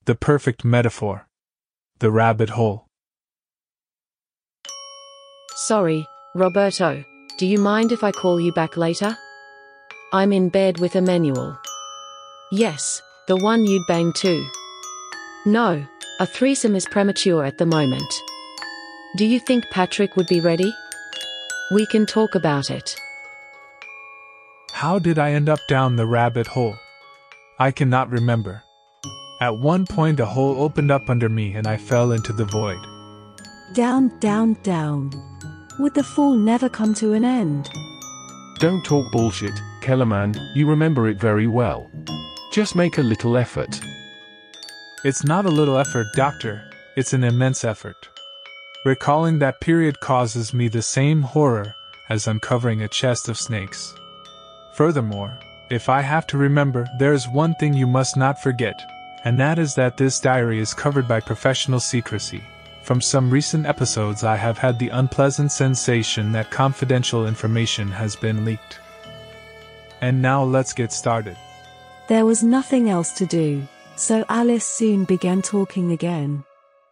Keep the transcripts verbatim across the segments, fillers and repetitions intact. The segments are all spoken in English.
The perfect metaphor. The rabbit hole. Sorry, Roberto, do you mind if I call you back later? I'm in bed with Emmanuel. Yes, the one you'd bang too. No, a threesome is premature at the moment. Do you think Patrick would be ready? We can talk about it. How did I end up down the rabbit hole? I cannot remember. At one point a hole opened up under me and I fell into the void. Down, down, down. Would the fall never come to an end? Don't talk bullshit, Kellerman, you remember it very well. Just make a little effort. It's not a little effort, Doctor, it's an immense effort. Recalling that period causes me the same horror as uncovering a chest of snakes. Furthermore, if I have to remember, there is one thing you must not forget, and that is that this diary is covered by professional secrecy. From some recent episodes I have had the unpleasant sensation that confidential information has been leaked. And now let's get started. There was nothing else to do, so Alice soon began talking again.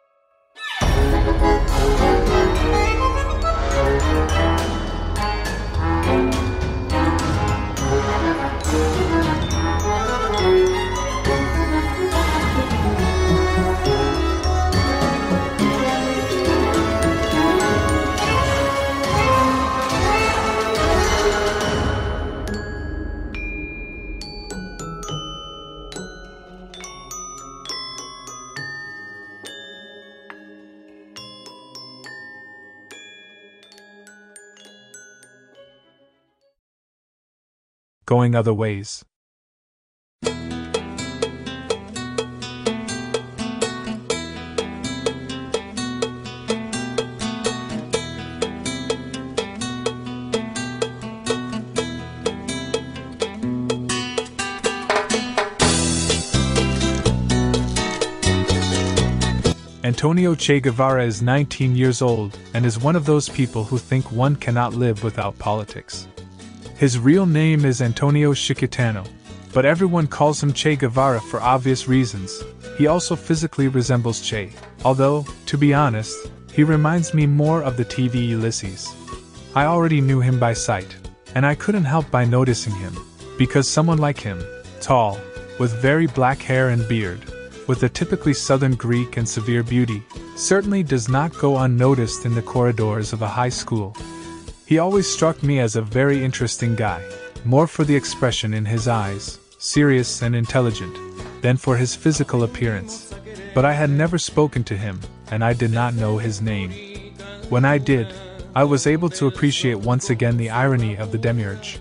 Going other ways. Antonio Che Guevara is nineteen years old and is one of those people who think one cannot live without politics. His real name is Antonio Chiquitano, but everyone calls him Che Guevara for obvious reasons. He also physically resembles Che, although, to be honest, he reminds me more of the T V Ulysses. I already knew him by sight, and I couldn't help by noticing him, because someone like him, tall, with very black hair and beard, with a typically southern Greek and severe beauty, certainly does not go unnoticed in the corridors of a high school. He always struck me as a very interesting guy, more for the expression in his eyes, serious and intelligent, than for his physical appearance. But I had never spoken to him, and I did not know his name. When I did, I was able to appreciate once again the irony of the demiurge.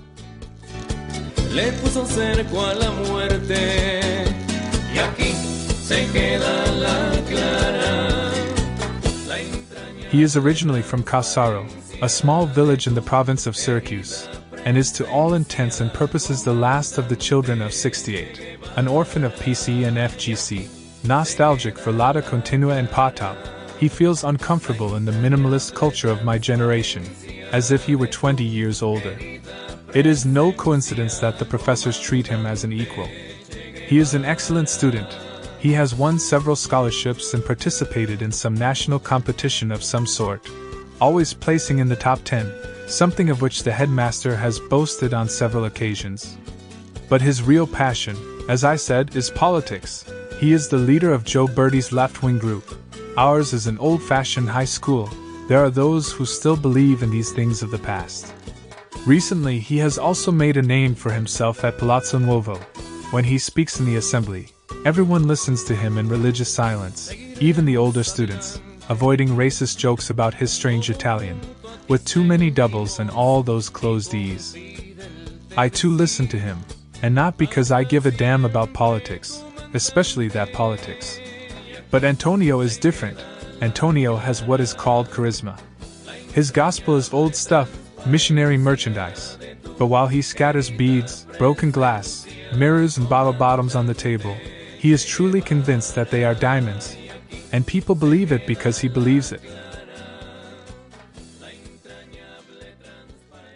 Le puso cerco a la muerte, y aquí se queda la clara. He is originally from Cassaro, a small village in the province of Syracuse, and is to all intents and purposes the last of the children of sixty-eight, an orphan of P C and F G C. Nostalgic for Lata Continua and Potop, he feels uncomfortable in the minimalist culture of my generation, as if he were twenty years older. It is no coincidence that the professors treat him as an equal. He is an excellent student. He has won several scholarships and participated in some national competition of some sort, always placing in the top ten, something of which the headmaster has boasted on several occasions. But his real passion, as I said, is politics. He is the leader of Joe Bertie's left-wing group. Ours is an old-fashioned high school. There are those who still believe in these things of the past. Recently, he has also made a name for himself at Palazzo Nuovo. When he speaks in the assembly, everyone listens to him in religious silence, even the older students, avoiding racist jokes about his strange Italian, with too many doubles and all those closed E's. I too listen to him, and not because I give a damn about politics, especially that politics. But Antonio is different. Antonio has what is called charisma. His gospel is old stuff, missionary merchandise. But while he scatters beads, broken glass, mirrors and bottle bottoms on the table, he is truly convinced that they are diamonds. And people believe it because he believes it.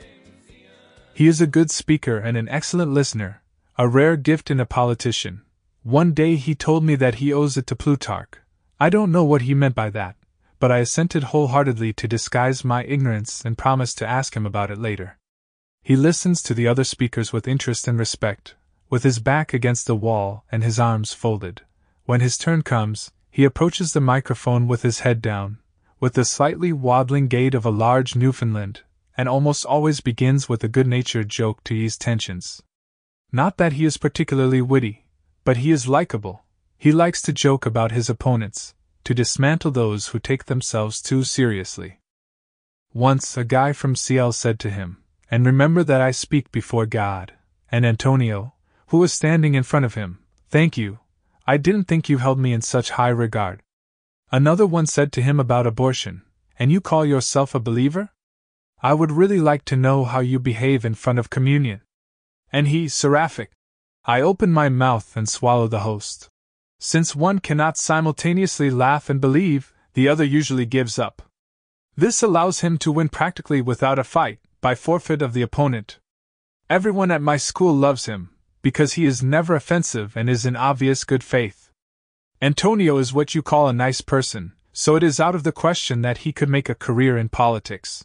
He is a good speaker and an excellent listener, a rare gift in a politician. One day he told me that he owes it to Plutarch. I don't know what he meant by that, but I assented wholeheartedly to disguise my ignorance and promised to ask him about it later. He listens to the other speakers with interest and respect, with his back against the wall and his arms folded. When his turn comes, he approaches the microphone with his head down, with the slightly waddling gait of a large Newfoundland, and almost always begins with a good-natured joke to ease tensions. Not that he is particularly witty, but he is likable. He likes to joke about his opponents, to dismantle those who take themselves too seriously. Once a guy from C L said to him, "And remember that I speak before God," and Antonio, who was standing in front of him, "Thank you. I didn't think you held me in such high regard." Another one said to him about abortion, "And you call yourself a believer? I would really like to know how you behave in front of communion." And he, seraphic. I open my mouth and swallow the host. Since one cannot simultaneously laugh and believe, the other usually gives up. This allows him to win practically without a fight, by forfeit of the opponent. Everyone at my school loves him, because he is never offensive and is in obvious good faith. Antonio is what you call a nice person, so it is out of the question that he could make a career in politics.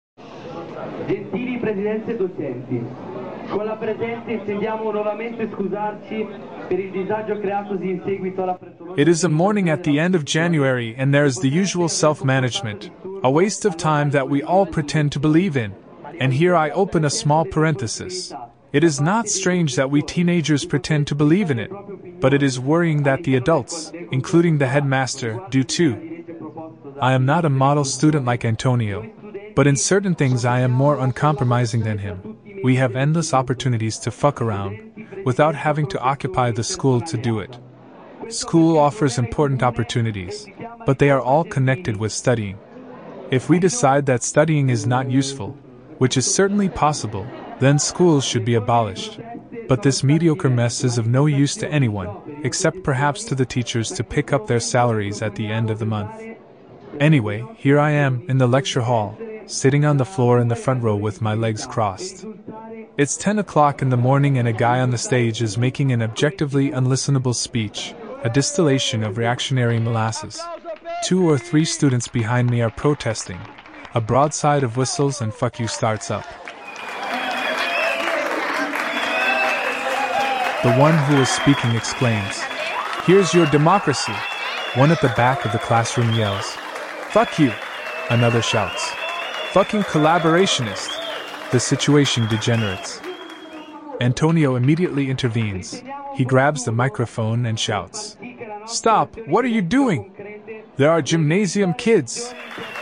Gentili presidente docenti, con la presenza intendiamo nuovamente scusarci per il disagio creatosi in seguito alla frettolosa. It is a morning at the end of January and there is the usual self-management, a waste of time that we all pretend to believe in. And here I open a small parenthesis. It is not strange that we teenagers pretend to believe in it, but it is worrying that the adults, including the headmaster, do too. I am not a model student like Antonio, but in certain things I am more uncompromising than him. We have endless opportunities to fuck around, without having to occupy the school to do it. School offers important opportunities, but they are all connected with studying. If we decide that studying is not useful, which is certainly possible, then schools should be abolished. But this mediocre mess is of no use to anyone, except perhaps to the teachers to pick up their salaries at the end of the month. Anyway, here I am, in the lecture hall, sitting on the floor in the front row with my legs crossed. It's ten o'clock in the morning and a guy on the stage is making an objectively unlistenable speech, a distillation of reactionary molasses. Two or three students behind me are protesting. A broadside of whistles and fuck you starts up. The one who is speaking exclaims, "Here's your democracy!" One at the back of the classroom yells, "Fuck you!" Another shouts, "Fucking collaborationist!" The situation degenerates. Antonio immediately intervenes. He grabs the microphone and shouts, "Stop! What are you doing? There are gymnasium kids!"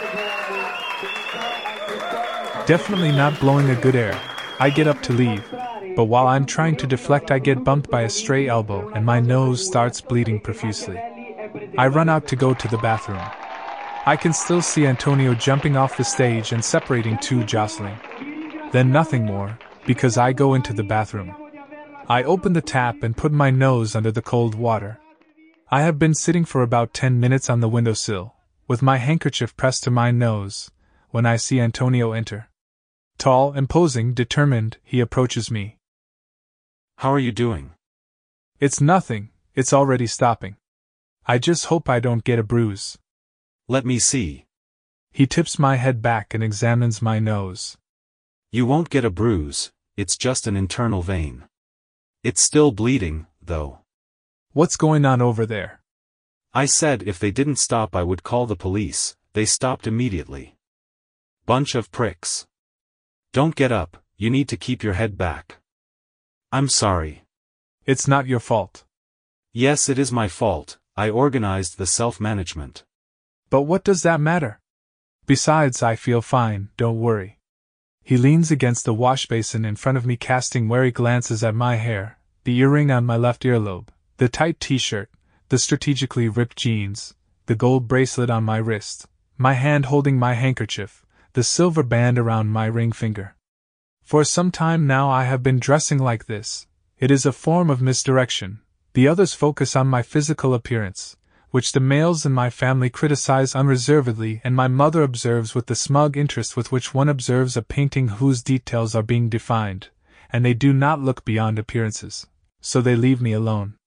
Definitely not blowing a good air, I get up to leave, but while I'm trying to deflect I get bumped by a stray elbow and my nose starts bleeding profusely. I run out to go to the bathroom. I can still see Antonio jumping off the stage and separating two jostling. Then nothing more, because I go into the bathroom. I open the tap and put my nose under the cold water. I have been sitting for about ten minutes on the windowsill, with my handkerchief pressed to my nose, when I see Antonio enter. Tall, imposing, determined, he approaches me. "How are you doing?" "It's nothing, it's already stopping. I just hope I don't get a bruise." "Let me see." He tips my head back and examines my nose. "You won't get a bruise, it's just an internal vein. It's still bleeding, though." "What's going on over there?" "I said if they didn't stop I would call the police. They stopped immediately. Bunch of pricks. Don't get up, you need to keep your head back." "I'm sorry." "It's not your fault." "Yes, it is my fault, I organized the self-management." "But what does that matter? Besides, I feel fine, don't worry." He leans against the wash basin in front of me, casting wary glances at my hair, the earring on my left earlobe, the tight t-shirt, the strategically ripped jeans, the gold bracelet on my wrist, my hand holding my handkerchief, the silver band around my ring finger. For some time now I have been dressing like this. It is a form of misdirection. The others focus on my physical appearance, which the males in my family criticize unreservedly, and my mother observes with the smug interest with which one observes a painting whose details are being defined, and they do not look beyond appearances, so they leave me alone.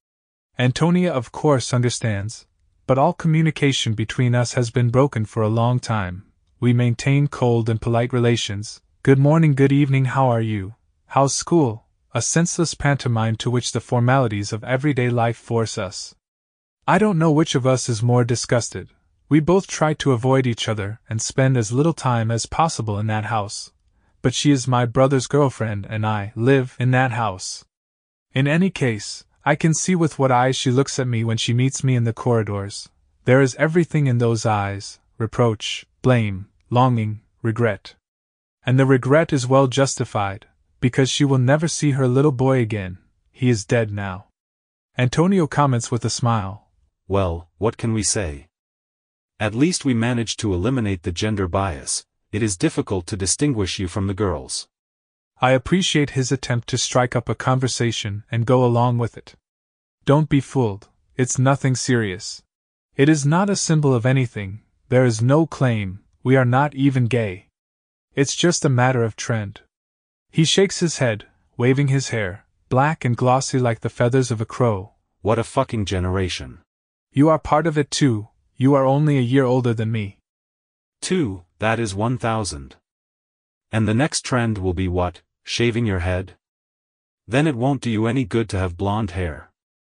Antonia of course understands, but all communication between us has been broken for a long time. We maintain cold and polite relations. Good morning, good evening, how are you? How's school? A senseless pantomime to which the formalities of everyday life force us. I don't know which of us is more disgusted. We both try to avoid each other and spend as little time as possible in that house. But she is my brother's girlfriend and I live in that house. In any case, I can see with what eyes she looks at me when she meets me in the corridors. There is everything in those eyes: reproach, blame, longing, regret. And the regret is well justified, because she will never see her little boy again. He is dead now. Antonio comments with a smile. Well, what can we say? At least we managed to eliminate the gender bias. It is difficult to distinguish you from the girls. I appreciate his attempt to strike up a conversation and go along with it. Don't be fooled, it's nothing serious. It is not a symbol of anything, there is no claim, we are not even gay. It's just a matter of trend. He shakes his head, waving his hair, black and glossy like the feathers of a crow. What a fucking generation. You are part of it too, you are only a year older than me. Two, that is one thousand. And the next trend will be what, shaving your head? Then it won't do you any good to have blonde hair.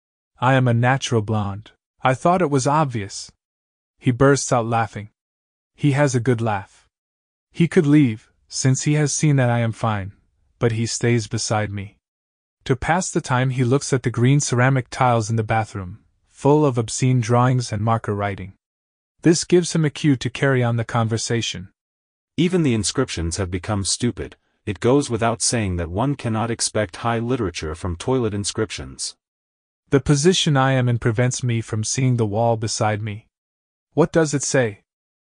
I am a natural blonde. I thought it was obvious. He bursts out laughing. He has a good laugh. He could leave, since he has seen that I am fine, but he stays beside me. To pass the time he looks at the green ceramic tiles in the bathroom, full of obscene drawings and marker writing. This gives him a cue to carry on the conversation. Even the inscriptions have become stupid. It goes without saying that one cannot expect high literature from toilet inscriptions. The position I am in prevents me from seeing the wall beside me. What does it say?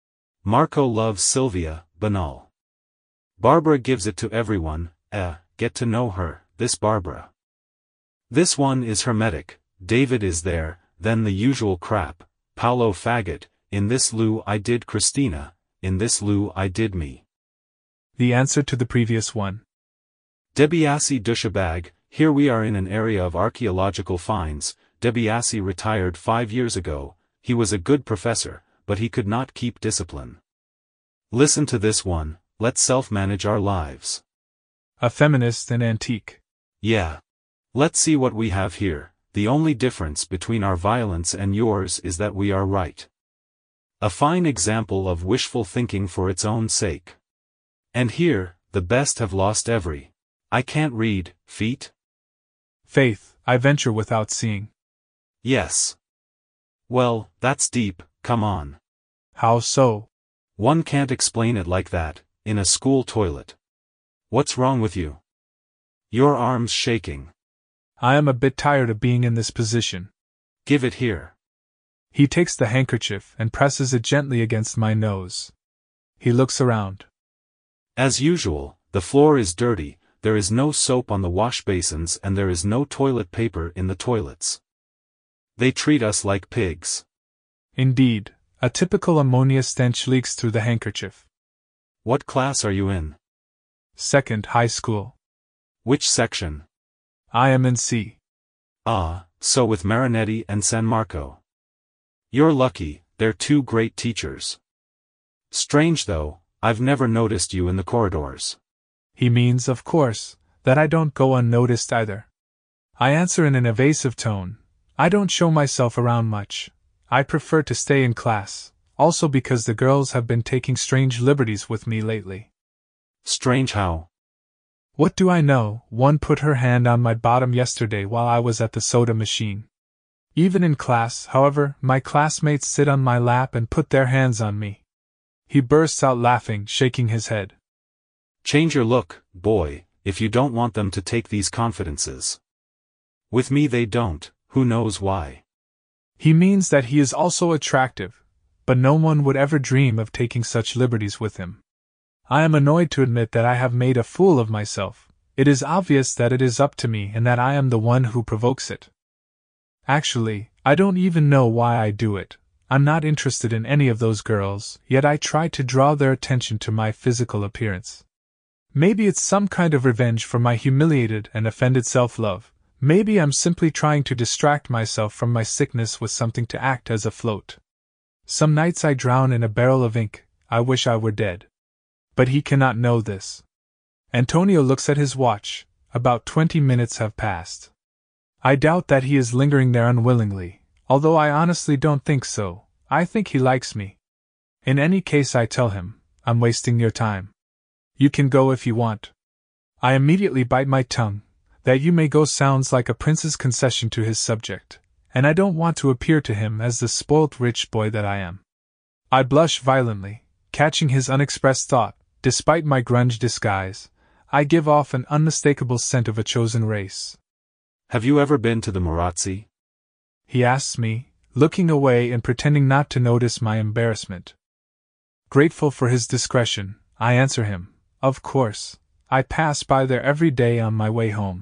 Marco loves Sylvia, banal. Barbara gives it to everyone, eh, get to know her, this Barbara. This one is hermetic, David is there, then the usual crap, Paolo faggot, in this Lou I did Christina, in this Lou I did me. The answer to the previous one. DiBiase douchebag, here we are in an area of archaeological finds. DiBiase retired five years ago, he was a good professor, but he could not keep discipline. Listen to this one, let's self-manage our lives. A feminist and antique. Yeah. Let's see what we have here. The only difference between our violence and yours is that we are right. A fine example of wishful thinking for its own sake. And here, the best have lost every. I can't read, feet? Faith, I venture without seeing. Yes. Well, that's deep, come on. How so? One can't explain it like that, in a school toilet. What's wrong with you? Your arm's shaking. I am a bit tired of being in this position. Give it here. He takes the handkerchief and presses it gently against my nose. He looks around. As usual, the floor is dirty, there is no soap on the wash basins and there is no toilet paper in the toilets. They treat us like pigs. Indeed, a typical ammonia stench leaks through the handkerchief. What class are you in? Second high school. Which section? I am in C. Ah, so with Marinetti and San Marco. You're lucky, they're two great teachers. Strange though, I've never noticed you in the corridors. He means, of course, that I don't go unnoticed either. I answer in an evasive tone. I don't show myself around much. I prefer to stay in class, also because the girls have been taking strange liberties with me lately. Strange how? What do I know? One put her hand on my bottom yesterday while I was at the soda machine. Even in class, however, my classmates sit on my lap and put their hands on me. He bursts out laughing, shaking his head. Change your look, boy, if you don't want them to take these confidences. With me they don't, who knows why. He means that he is also attractive, but no one would ever dream of taking such liberties with him. I am annoyed to admit that I have made a fool of myself. It is obvious that it is up to me and that I am the one who provokes it. Actually, I don't even know why I do it. I'm not interested in any of those girls, yet I try to draw their attention to my physical appearance. Maybe it's some kind of revenge for my humiliated and offended self-love. Maybe I'm simply trying to distract myself from my sickness with something to act as a float. Some nights I drown in a barrel of ink. I wish I were dead. But he cannot know this. Antonio looks at his watch. About twenty minutes have passed. I doubt that he is lingering there unwillingly, although I honestly don't think so. I think he likes me. In any case, I tell him, I'm wasting your time. You can go if you want. I immediately bite my tongue. That you may go sounds like a prince's concession to his subject, and I don't want to appear to him as the spoilt rich boy that I am. I blush violently, catching his unexpressed thought. Despite my grunge disguise, I give off an unmistakable scent of a chosen race. Have you ever been to the Marazzi? He asks me, looking away and pretending not to notice my embarrassment. Grateful for his discretion, I answer him, of course. I pass by there every day on my way home.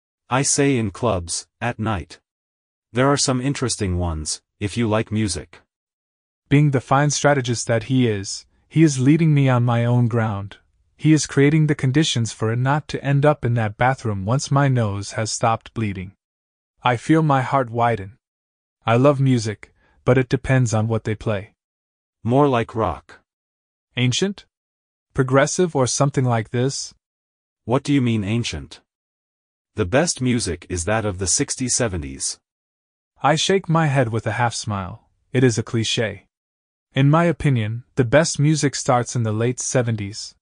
I say in clubs, at night. There are some interesting ones, if you like music. Being the fine strategist that he is, he is leading me on my own ground. He is creating the conditions for it not to end up in that bathroom once my nose has stopped bleeding. I feel my heart widen. I love music, but it depends on what they play. More like rock. Ancient? Progressive or something like this? What do you mean ancient? The best music is that of the sixties seventies. I shake my head with a half-smile. It is a cliché. In my opinion, the best music starts in the late seventies.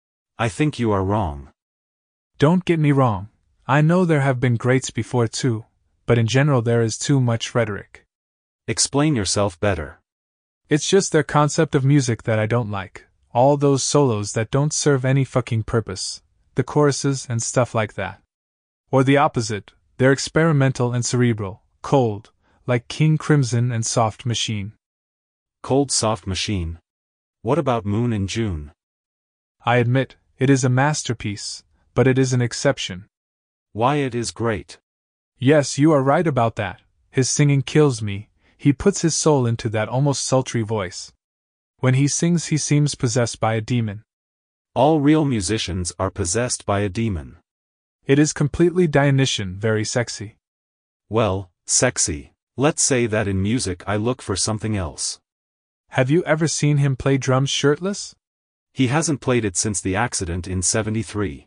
I think you are wrong. Don't get me wrong. I know there have been greats before too, but in general there is too much rhetoric. Explain yourself better. It's just their concept of music that I don't like. All those solos that don't serve any fucking purpose. The choruses and stuff like that. Or the opposite, they're experimental and cerebral, cold, like King Crimson and Soft Machine. Cold Soft Machine? What about Moon in June? I admit, it is a masterpiece, but it is an exception. Why, it is great. Yes, you are right about that. His singing kills me. He puts his soul into that almost sultry voice. When he sings, he seems possessed by a demon. All real musicians are possessed by a demon. It is completely Dionysian, very sexy. Well, sexy. Let's say that in music I look for something else. Have you ever seen him play drums shirtless? He hasn't played it since the accident in seventy-three.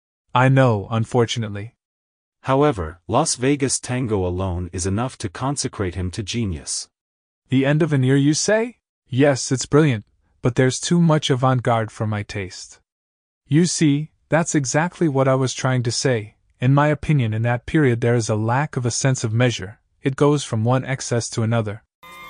I know, unfortunately. However, Las Vegas Tango alone is enough to consecrate him to genius. The end of an ear, you say? Yes, it's brilliant, but there's too much avant-garde for my taste. You see, that's exactly what I was trying to say. In my opinion, in that period there is a lack of a sense of measure. It goes from one excess to another.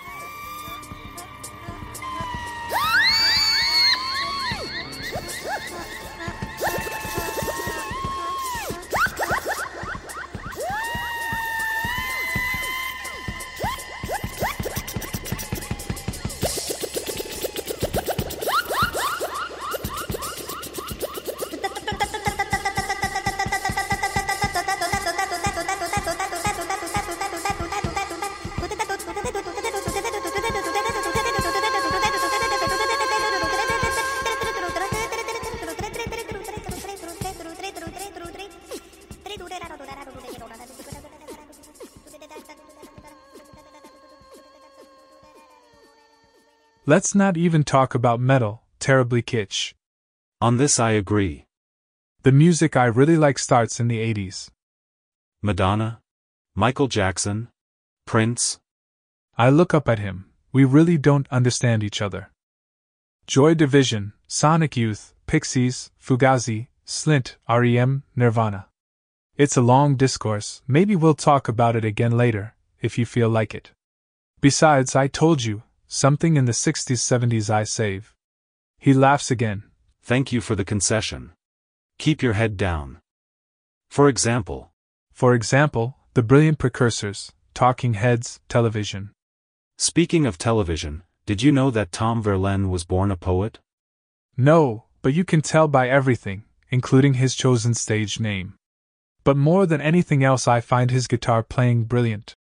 Let's not even talk about metal, terribly kitsch. On this I agree. The music I really like starts in the eighties. Madonna? Michael Jackson? Prince? I look up at him. We really don't understand each other. Joy Division, Sonic Youth, Pixies, Fugazi, Slint, R E M, Nirvana. It's a long discourse. Maybe we'll talk about it again later, if you feel like it. Besides, I told you, something in the sixties seventies I save. He laughs again. Thank you for the concession. Keep your head down. For example. For example, the brilliant precursors, Talking Heads, television. Speaking of television, did you know that Tom Verlaine was born a poet? No, but you can tell by everything, including his chosen stage name. But more than anything else, I find his guitar playing brilliant.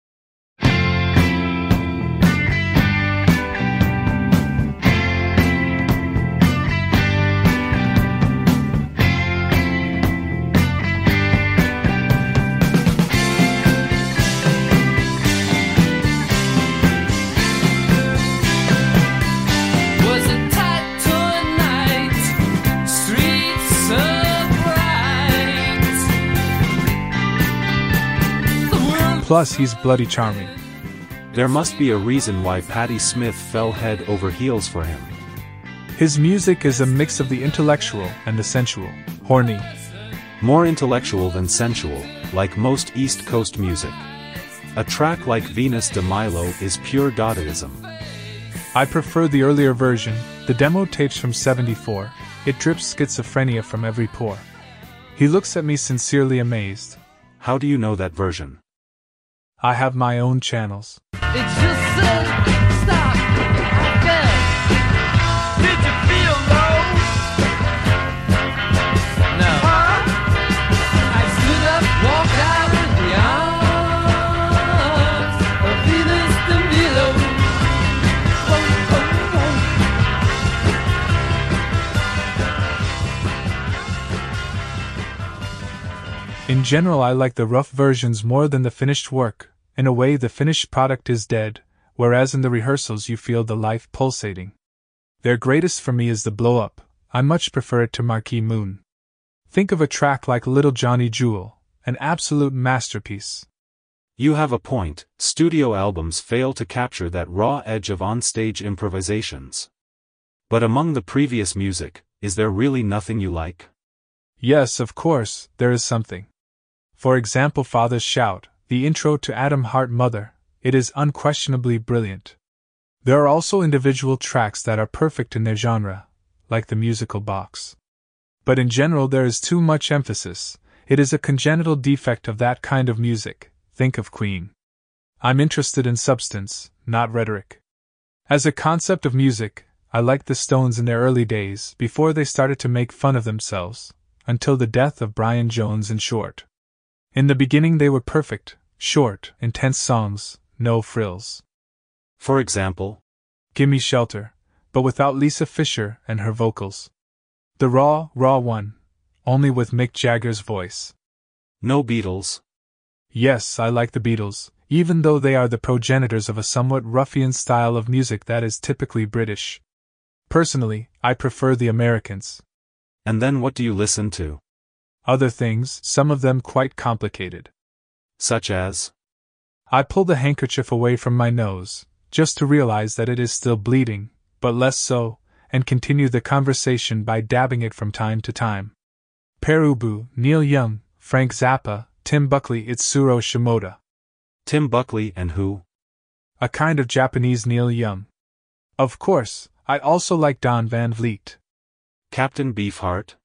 Plus he's bloody charming. There must be a reason why Patti Smith fell head over heels for him. His music is a mix of the intellectual and the sensual. Horny. More intellectual than sensual, like most East Coast music. A track like Venus de Milo is pure Dadaism. I prefer the earlier version, the demo tapes from seventy-four. It drips schizophrenia from every pore. He looks at me sincerely amazed. How do you know that version? I have my own channels. It's just said, stop, again. Did you feel low? No. Huh? I stood up, walked out of the arms of Venus de Milo. Oh, oh, oh. In general, I like the rough versions more than the finished work. In a way, the finished product is dead, whereas in the rehearsals you feel the life pulsating. Their greatest for me is the blow-up. I much prefer it to Marquee Moon. Think of a track like Little Johnny Jewel, an absolute masterpiece. You have a point. Studio albums fail to capture that raw edge of on-stage improvisations. But among the previous music, is there really nothing you like? Yes, of course, there is something. For example, Father's Shout, the intro to Atom Heart Mother, it is unquestionably brilliant. There are also individual tracks that are perfect in their genre, like the musical box. But in general there is too much emphasis. It is a congenital defect of that kind of music. Think of Queen. I'm interested in substance, not rhetoric. As a concept of music, I liked the Stones in their early days, before they started to make fun of themselves, until the death of Brian Jones in short. In the beginning they were perfect, short, intense songs, no frills. For example? Gimme Shelter, but without Lisa Fisher and her vocals. The raw, raw one, only with Mick Jagger's voice. No Beatles? Yes, I like the Beatles, even though they are the progenitors of a somewhat ruffian style of music that is typically British. Personally, I prefer the Americans. And then what do you listen to? Other things, some of them quite complicated. Such as? I pull the handkerchief away from my nose, just to realize that it is still bleeding, but less so, and continue the conversation by dabbing it from time to time. Pere Ubu, Neil Young, Frank Zappa, Tim Buckley, Itsuro Shimoda. Tim Buckley and who? A kind of Japanese Neil Young. Of course, I also like Don Van Vliet. Captain Beefheart?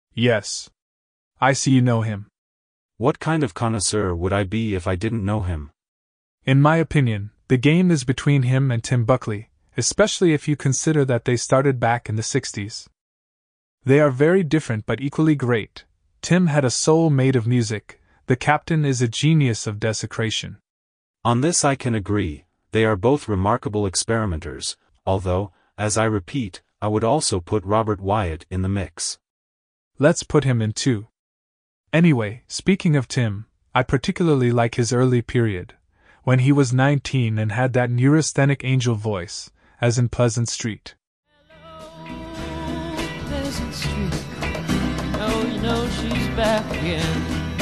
Yes. I see you know him. What kind of connoisseur would I be if I didn't know him? In my opinion, the game is between him and Tim Buckley, especially if you consider that they started back in the sixties. They are very different but equally great. Tim had a soul made of music, the Captain is a genius of desecration. On this I can agree, they are both remarkable experimenters, although, as I repeat, I would also put Robert Wyatt in the mix. Let's put him in too. Anyway, speaking of Tim, I particularly like his early period, when he was nineteen and had that neurasthenic angel voice, as in Pleasant Street. Hello, Pleasant Street. Oh, you know she's back again.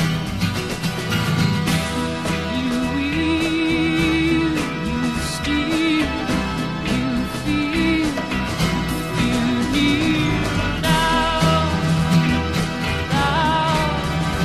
You wheel, you steal, you feel, you need now, now,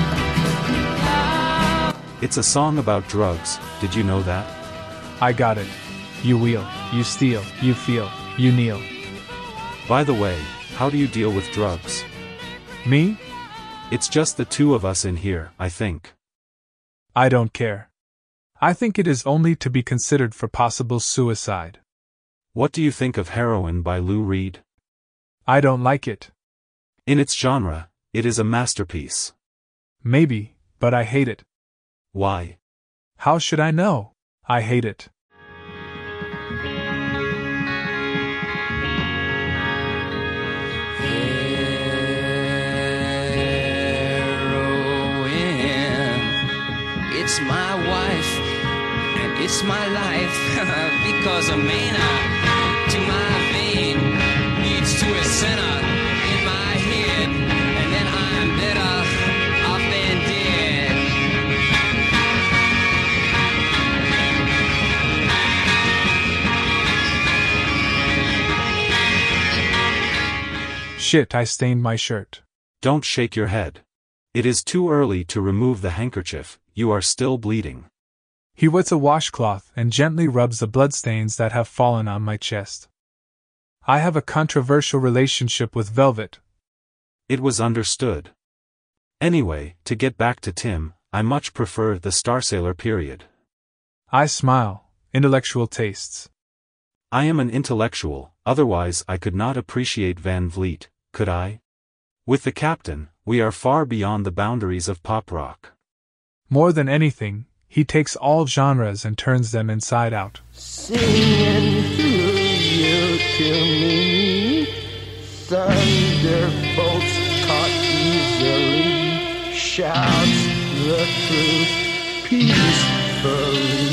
now. It's a song about drugs, did you know that? I got it. You wheel, you steal, you feel, you kneel. By the way, how do you deal with drugs? Me? It's just the two of us in here, I think. I don't care. I think it is only to be considered for possible suicide. What do you think of Heroin by Lou Reed? I don't like it. In its genre, it is a masterpiece. Maybe, but I hate it. Why? How should I know? I hate it. It's my wife, and it's my life, because a manna to my vein leads to a sinner in my head, and then I'm better off than dead. Shit, I stained my shirt. Don't shake your head. It is too early to remove the handkerchief, you are still bleeding. He wets a washcloth and gently rubs the bloodstains that have fallen on my chest. I have a controversial relationship with velvet. It was understood. Anyway, to get back to Tim, I much prefer the Starsailor period. I smile. Intellectual tastes. I am an intellectual, otherwise I could not appreciate Van Vliet, could I? With the Captain, we are far beyond the boundaries of pop rock. More than anything, he takes all genres and turns them inside out. Singing who you to me, thunderbolts caught easily, shouts the truth peacefully.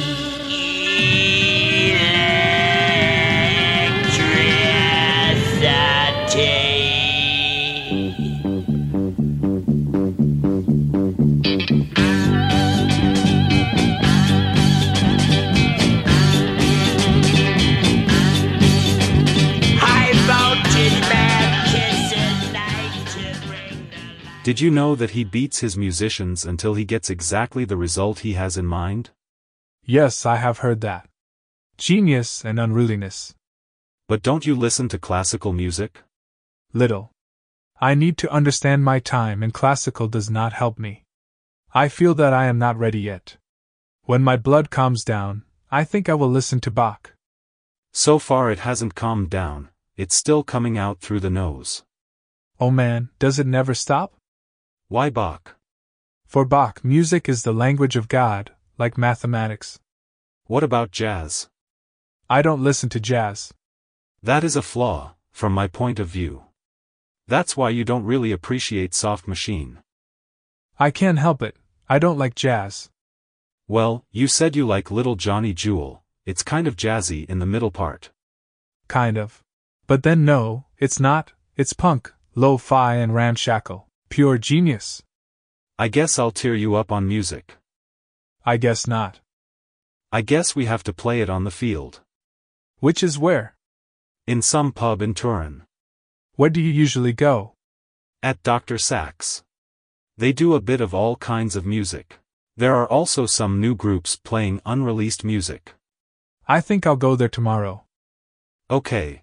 Did you know that he beats his musicians until he gets exactly the result he has in mind? Yes, I have heard that. Genius and unruliness. But don't you listen to classical music? Little. I need to understand my time, and classical does not help me. I feel that I am not ready yet. When my blood calms down, I think I will listen to Bach. So far it hasn't calmed down, it's still coming out through the nose. Oh man, does it never stop? Why Bach? For Bach, music is the language of God, like mathematics. What about jazz? I don't listen to jazz. That is a flaw, from my point of view. That's why you don't really appreciate Soft Machine. I can't help it, I don't like jazz. Well, you said you like Little Johnny Jewel, it's kind of jazzy in the middle part. Kind of. But then no, it's not, it's punk, lo-fi and ramshackle. Pure genius. I guess I'll tear you up on music. I guess not. I guess we have to play it on the field. Which is where? In some pub in Turin. Where do you usually go? At Doctor Sax. They do a bit of all kinds of music. There are also some new groups playing unreleased music. I think I'll go there tomorrow. Okay.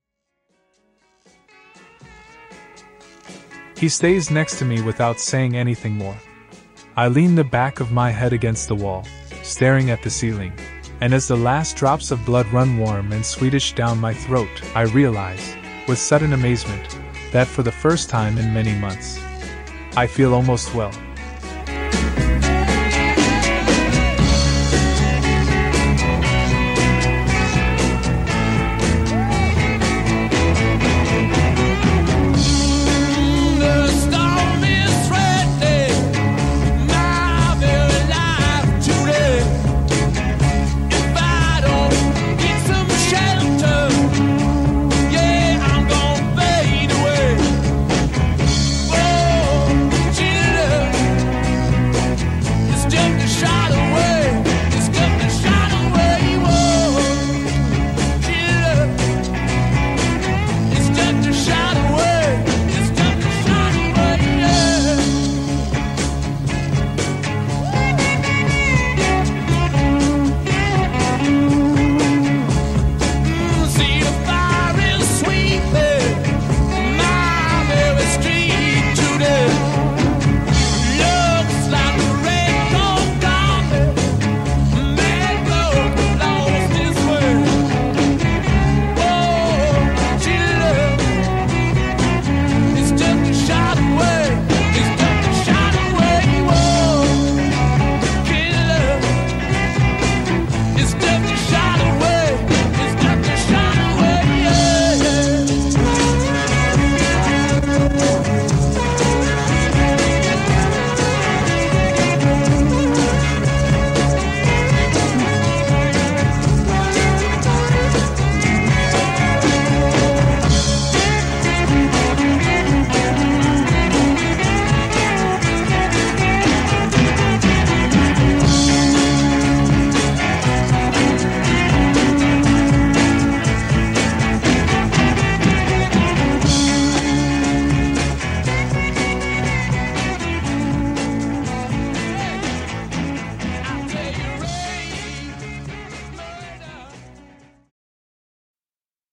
He stays next to me without saying anything more. I lean the back of my head against the wall, staring at the ceiling, and as the last drops of blood run warm and sweetish down my throat, I realize, with sudden amazement, that for the first time in many months, I feel almost well.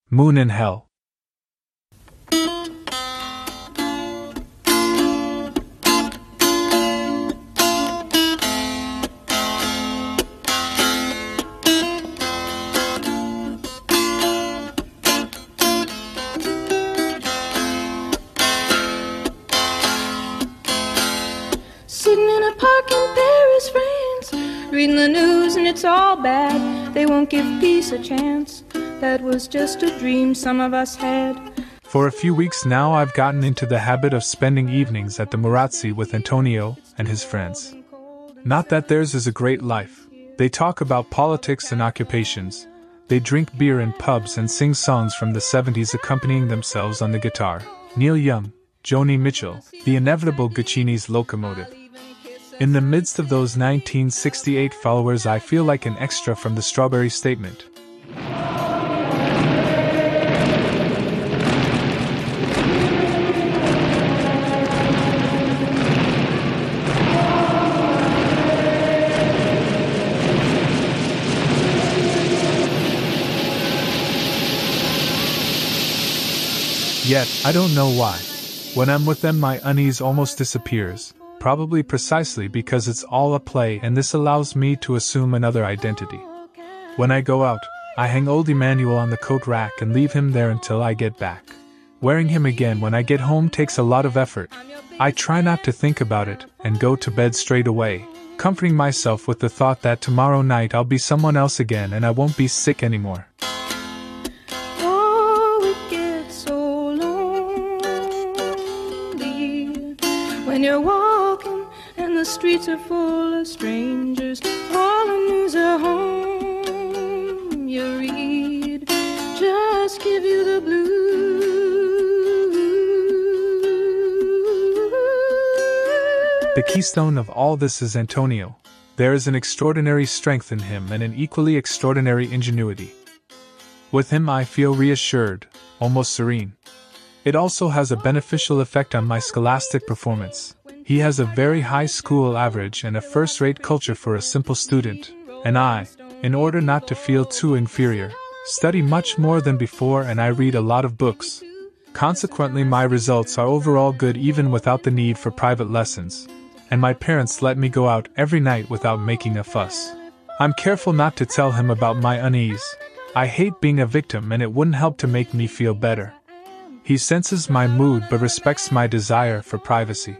Moon in Hell. Reading the news and it's all bad. They won't give peace a chance. That was just a dream some of us had. For a few weeks now I've gotten into the habit of spending evenings at the Murazzi with Antonio and his friends. Not that theirs is a great life. They talk about politics and occupations. They drink beer in pubs and sing songs from the seventies accompanying themselves on the guitar. Neil Young, Joni Mitchell, the inevitable Guccini's Locomotive. In the midst of those nineteen sixty-eight followers I feel like an extra from the Strawberry Statement. Yet, I don't know why. When I'm with them my unease almost disappears. Probably precisely because it's all a play and this allows me to assume another identity. When I go out, I hang old Emmanuel on the coat rack and leave him there until I get back. Wearing him again when I get home takes a lot of effort. I try not to think about it and go to bed straight away, comforting myself with the thought that tomorrow night I'll be someone else again and I won't be sick anymore. Oh, it gets so lonely when you're walking and the streets are full of strangers. All the news at home you read just give you the blues. The keystone of all this is Antonio. There is an extraordinary strength in him and an equally extraordinary ingenuity. With him I feel reassured, almost serene. It also has a beneficial effect on my scholastic performance. He has a very high school average and a first-rate culture for a simple student, and I, in order not to feel too inferior, study much more than before and I read a lot of books. Consequently my results are overall good even without the need for private lessons, and my parents let me go out every night without making a fuss. I'm careful not to tell him about my unease. I hate being a victim and it wouldn't help to make me feel better. He senses my mood but respects my desire for privacy.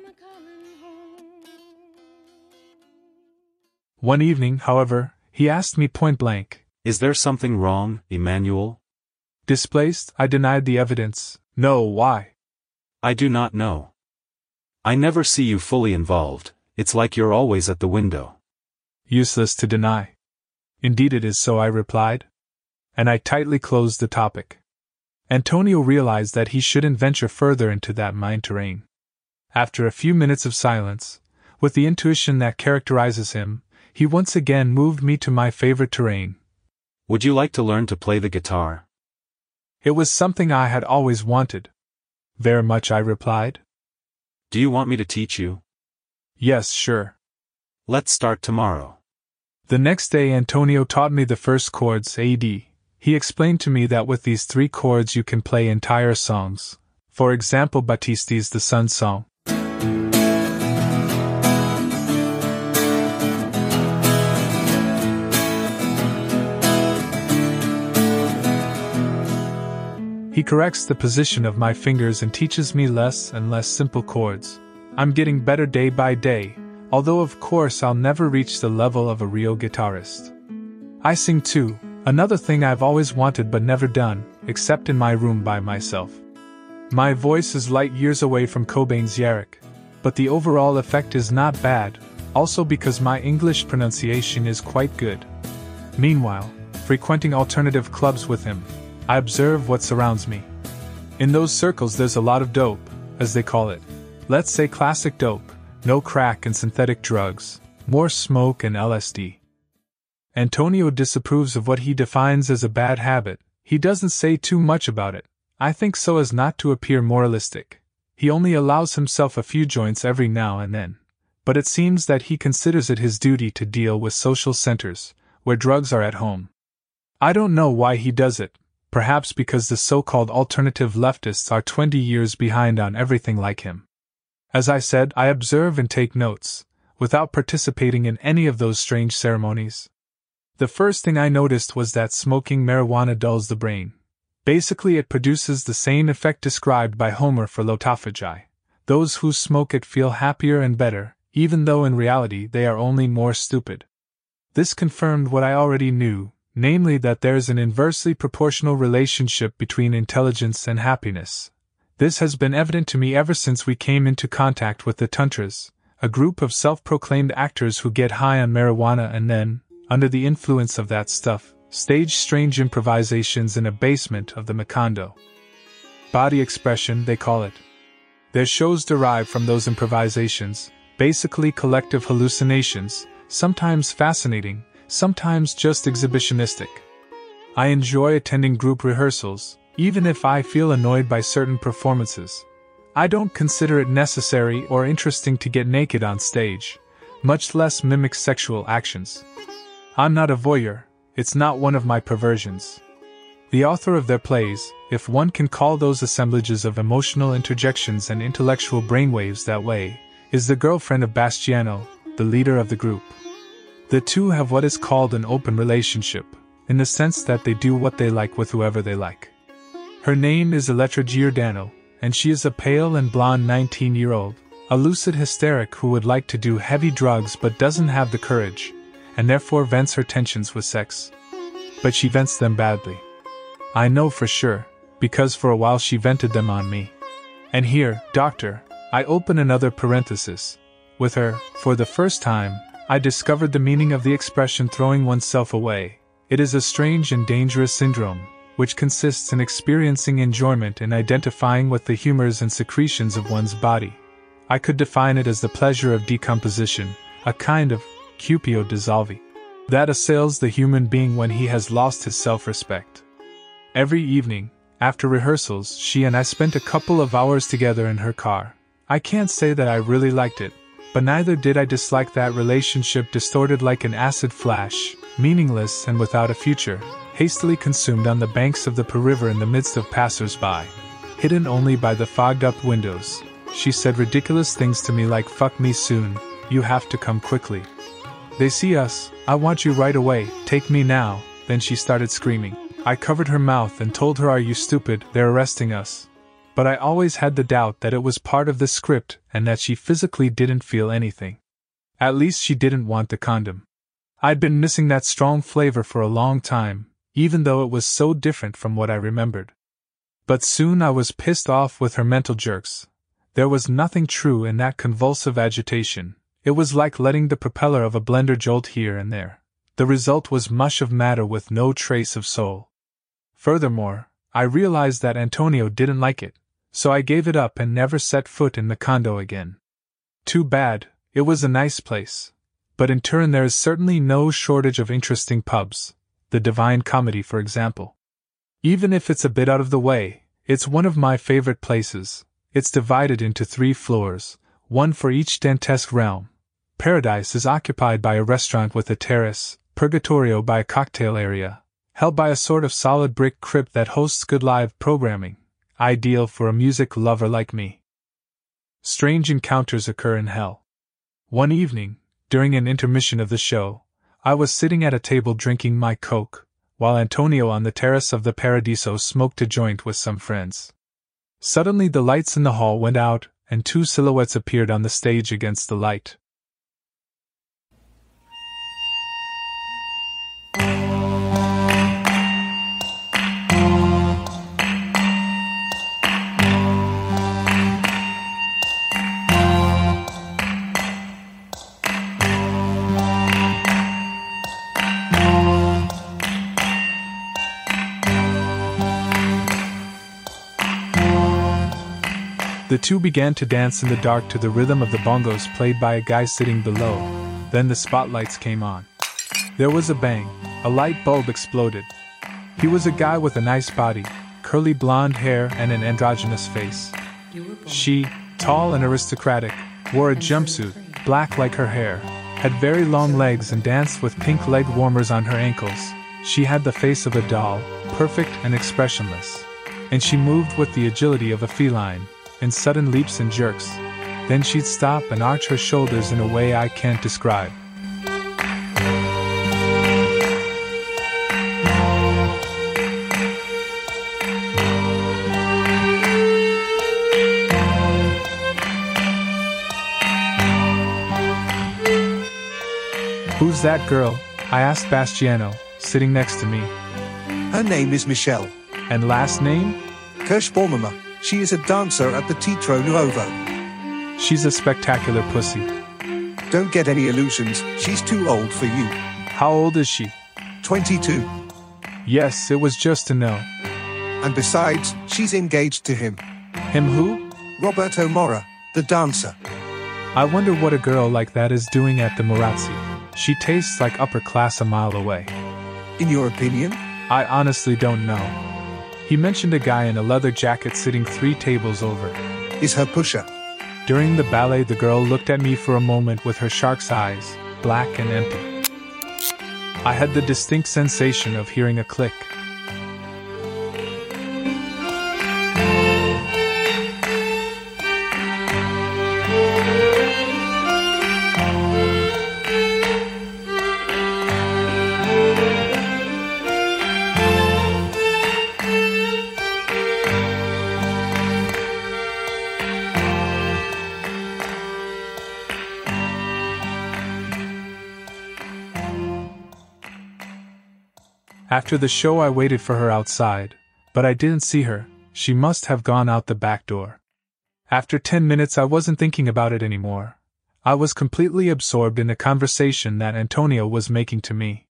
One evening, however, he asked me point-blank, "Is there something wrong, Emmanuel?" Displaced, I denied the evidence. No, why? I do not know. I never see you fully involved, it's like you're always at the window. Useless to deny. Indeed it is so, I replied. And I tightly closed the topic. Antonio realized that he shouldn't venture further into that mine terrain. After a few minutes of silence, with the intuition that characterizes him, he once again moved me to my favorite terrain. Would you like to learn to play the guitar? It was something I had always wanted. Very much, I replied. Do you want me to teach you? Yes, sure. Let's start tomorrow. The next day Antonio taught me the first chords, A D. He explained to me that with these three chords you can play entire songs. For example, Battisti's The Sun Song. He corrects the position of my fingers and teaches me less and less simple chords. I'm getting better day by day, although of course I'll never reach the level of a real guitarist. I sing too, another thing I've always wanted but never done, except in my room by myself. My voice is light years away from Cobain's Yarrick, but the overall effect is not bad, also because my English pronunciation is quite good. Meanwhile, frequenting alternative clubs with him, I observe what surrounds me. In those circles there's a lot of dope, as they call it. Let's say classic dope, no crack and synthetic drugs, more smoke and L S D. Antonio disapproves of what he defines as a bad habit. He doesn't say too much about it, I think so as not to appear moralistic. He only allows himself a few joints every now and then. But it seems that he considers it his duty to deal with social centers, where drugs are at home. I don't know why he does it, perhaps because the so-called alternative leftists are twenty years behind on everything like him. As I said, I observe and take notes, without participating in any of those strange ceremonies. The first thing I noticed was that smoking marijuana dulls the brain. Basically, it produces the same effect described by Homer for lotophagi. Those who smoke it feel happier and better, even though in reality they are only more stupid. This confirmed what I already knew, namely that there is an inversely proportional relationship between intelligence and happiness. This has been evident to me ever since we came into contact with the Tuntras, a group of self-proclaimed actors who get high on marijuana and then, under the influence of that stuff, stage strange improvisations in a basement of the Macondo. Body expression, they call it. Their shows derive from those improvisations, basically collective hallucinations, sometimes fascinating, sometimes just exhibitionistic. I enjoy attending group rehearsals, even if I feel annoyed by certain performances. I don't consider it necessary or interesting to get naked on stage, much less mimic sexual actions. I'm not a voyeur, it's not one of my perversions. The author of their plays, if one can call those assemblages of emotional interjections and intellectual brainwaves that way, is the girlfriend of Bastiano, the leader of the group. The two have what is called an open relationship, in the sense that they do what they like with whoever they like. Her name is Elettra Giordano, and she is a pale and blonde nineteen-year-old, a lucid hysteric who would like to do heavy drugs but doesn't have the courage, and therefore vents her tensions with sex. But she vents them badly. I know for sure, because for a while she vented them on me. And here, doctor, I open another parenthesis. With her, for the first time, I discovered the meaning of the expression throwing oneself away. It is a strange and dangerous syndrome, which consists in experiencing enjoyment in identifying with the humors and secretions of one's body. I could define it as the pleasure of decomposition, a kind of cupio dissolvi, that assails the human being when he has lost his self-respect. Every evening, after rehearsals, she and I spent a couple of hours together in her car. I can't say that I really liked it, but neither did I dislike that relationship distorted like an acid flash, meaningless and without a future, hastily consumed on the banks of the Po River in the midst of passers-by. Hidden only by the fogged-up windows, she said ridiculous things to me like "fuck me soon, you have to come quickly. They see us, I want you right away, take me now." Then she started screaming. I covered her mouth and told her, "Are you stupid, they're arresting us." But I always had the doubt that it was part of the script and that she physically didn't feel anything. At least she didn't want the condom. I'd been missing that strong flavor for a long time, even though it was so different from what I remembered. But soon I was pissed off with her mental jerks. There was nothing true in that convulsive agitation. It was like letting the propeller of a blender jolt here and there. The result was mush of matter with no trace of soul. Furthermore, I realized that Antonio didn't like it, so I gave it up and never set foot in the condo again. Too bad, it was a nice place. But in turn there is certainly no shortage of interesting pubs, the Divine Comedy for example. Even if it's a bit out of the way, it's one of my favorite places. It's divided into three floors, one for each dantesque realm. Paradise is occupied by a restaurant with a terrace, Purgatorio by a cocktail area, held by a sort of solid brick crypt that hosts good live programming, ideal for a music lover like me. Strange encounters occur in hell. One evening, during an intermission of the show, I was sitting at a table drinking my Coke, while Antonio on the terrace of the Paradiso smoked a joint with some friends. Suddenly the lights in the hall went out, and two silhouettes appeared on the stage against the light. The two began to dance in the dark to the rhythm of the bongos played by a guy sitting below. Then the spotlights came on. There was a bang, a light bulb exploded. He was a guy with a nice body, curly blonde hair and an androgynous face. She, tall and aristocratic, wore a jumpsuit, black like her hair, had very long legs and danced with pink leg warmers on her ankles. She had the face of a doll, perfect and expressionless. And she moved with the agility of a feline, in sudden leaps and jerks. Then she'd stop and arch her shoulders in a way I can't describe. Who's that girl? I asked Bastiano, sitting next to me. Her name is Michelle. And last name? Kirschbaummer. She is a dancer at the Teatro Nuovo. She's a spectacular pussy. Don't get any illusions, she's too old for you. How old is she? twenty-two. Yes, it was just to know. And besides, she's engaged to him. Him who? Roberto Mora, the dancer. I wonder what a girl like that is doing at the Morazzi. She tastes like upper class a mile away. In your opinion? I honestly don't know. He mentioned a guy in a leather jacket sitting three tables over. Is her pusher? During the ballet, the girl looked at me for a moment with her shark's eyes, black and empty. I had the distinct sensation of hearing a click. After the show, I waited for her outside, but I didn't see her. She must have gone out the back door. After ten minutes, I wasn't thinking about it anymore. I was completely absorbed in the conversation that Antonio was making to me.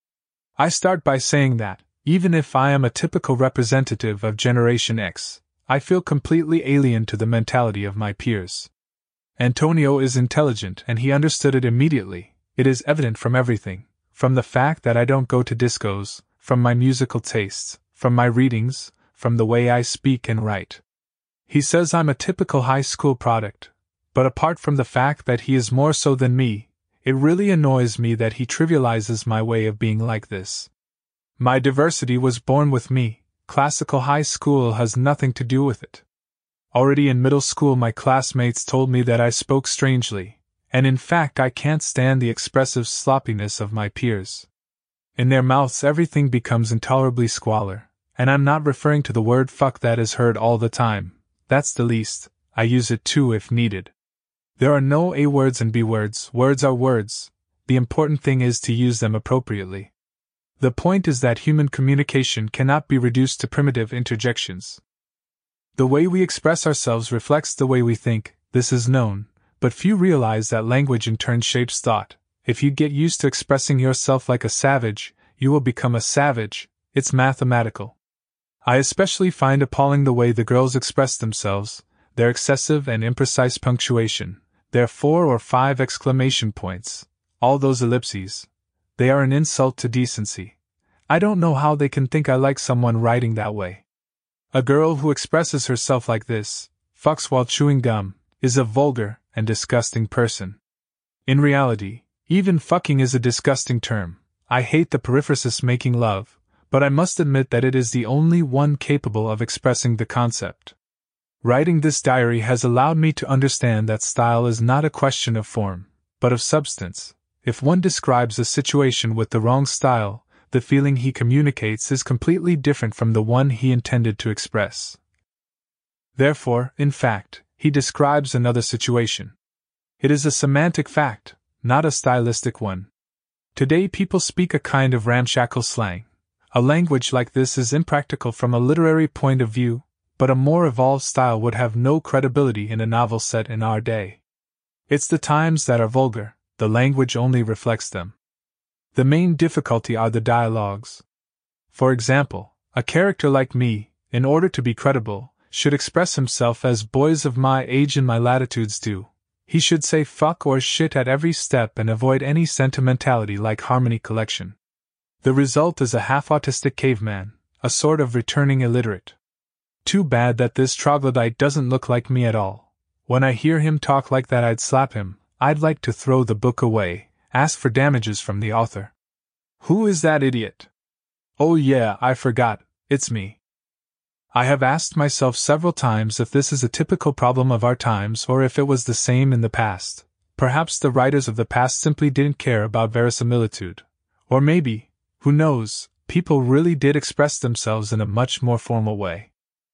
I start by saying that, even if I am a typical representative of Generation X, I feel completely alien to the mentality of my peers. Antonio is intelligent and he understood it immediately. It is evident from everything, from the fact that I don't go to discos, from my musical tastes, from my readings, from the way I speak and write. He says I'm a typical high school product, but apart from the fact that he is more so than me, it really annoys me that he trivializes my way of being like this. My diversity was born with me, classical high school has nothing to do with it. Already in middle school my classmates told me that I spoke strangely, and in fact I can't stand the expressive sloppiness of my peers. In their mouths everything becomes intolerably squalor, and I'm not referring to the word fuck that is heard all the time. That's the least, I use it too if needed. There are no A words and B words, words are words, the important thing is to use them appropriately. The point is that human communication cannot be reduced to primitive interjections. The way we express ourselves reflects the way we think, this is known, but few realize that language in turn shapes thought. If you get used to expressing yourself like a savage, you will become a savage, it's mathematical. I especially find appalling the way the girls express themselves, their excessive and imprecise punctuation, their four or five exclamation points, all those ellipses. They are an insult to decency. I don't know how they can think I like someone writing that way. A girl who expresses herself like this, fucks while chewing gum, is a vulgar and disgusting person. In reality, even fucking is a disgusting term. I hate the periphrasis making love, but I must admit that it is the only one capable of expressing the concept. Writing this diary has allowed me to understand that style is not a question of form, but of substance. If one describes a situation with the wrong style, the feeling he communicates is completely different from the one he intended to express. Therefore, in fact, he describes another situation. It is a semantic fact, not a stylistic one. Today people speak a kind of ramshackle slang. A language like this is impractical from a literary point of view, but a more evolved style would have no credibility in a novel set in our day. It's the times that are vulgar, the language only reflects them. The main difficulty are the dialogues. For example, a character like me, in order to be credible, should express himself as boys of my age and my latitudes do. He should say fuck or shit at every step and avoid any sentimentality like Harmony Collection. The result is a half-autistic caveman, a sort of returning illiterate. Too bad that this troglodyte doesn't look like me at all. When I hear him talk like that I'd slap him. I'd like to throw the book away, ask for damages from the author. Who is that idiot? Oh yeah, I forgot, it's me. I have asked myself several times if this is a typical problem of our times or if it was the same in the past. Perhaps the writers of the past simply didn't care about verisimilitude. Or maybe, who knows, people really did express themselves in a much more formal way.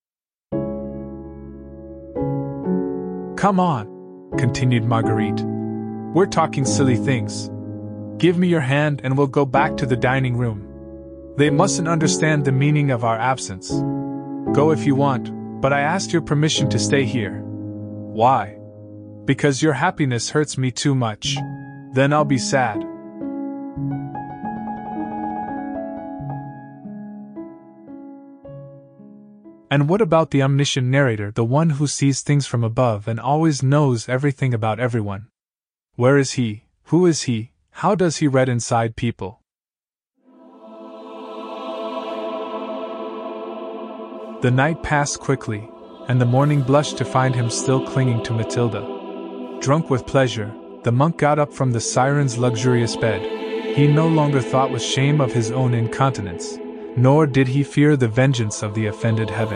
Come on, continued Marguerite. We're talking silly things. Give me your hand and we'll go back to the dining room. They mustn't understand the meaning of our absence. Go if you want, but I asked your permission to stay here. Why? Because your happiness hurts me too much. Then I'll be sad. And what about the omniscient narrator, the one who sees things from above and always knows everything about everyone? Where is he? Who is he? How does he read inside people? The night passed quickly, and the morning blushed to find him still clinging to Matilda. Drunk with pleasure, the monk got up from the siren's luxurious bed. He no longer thought with shame of his own incontinence, nor did he fear the vengeance of the offended heaven.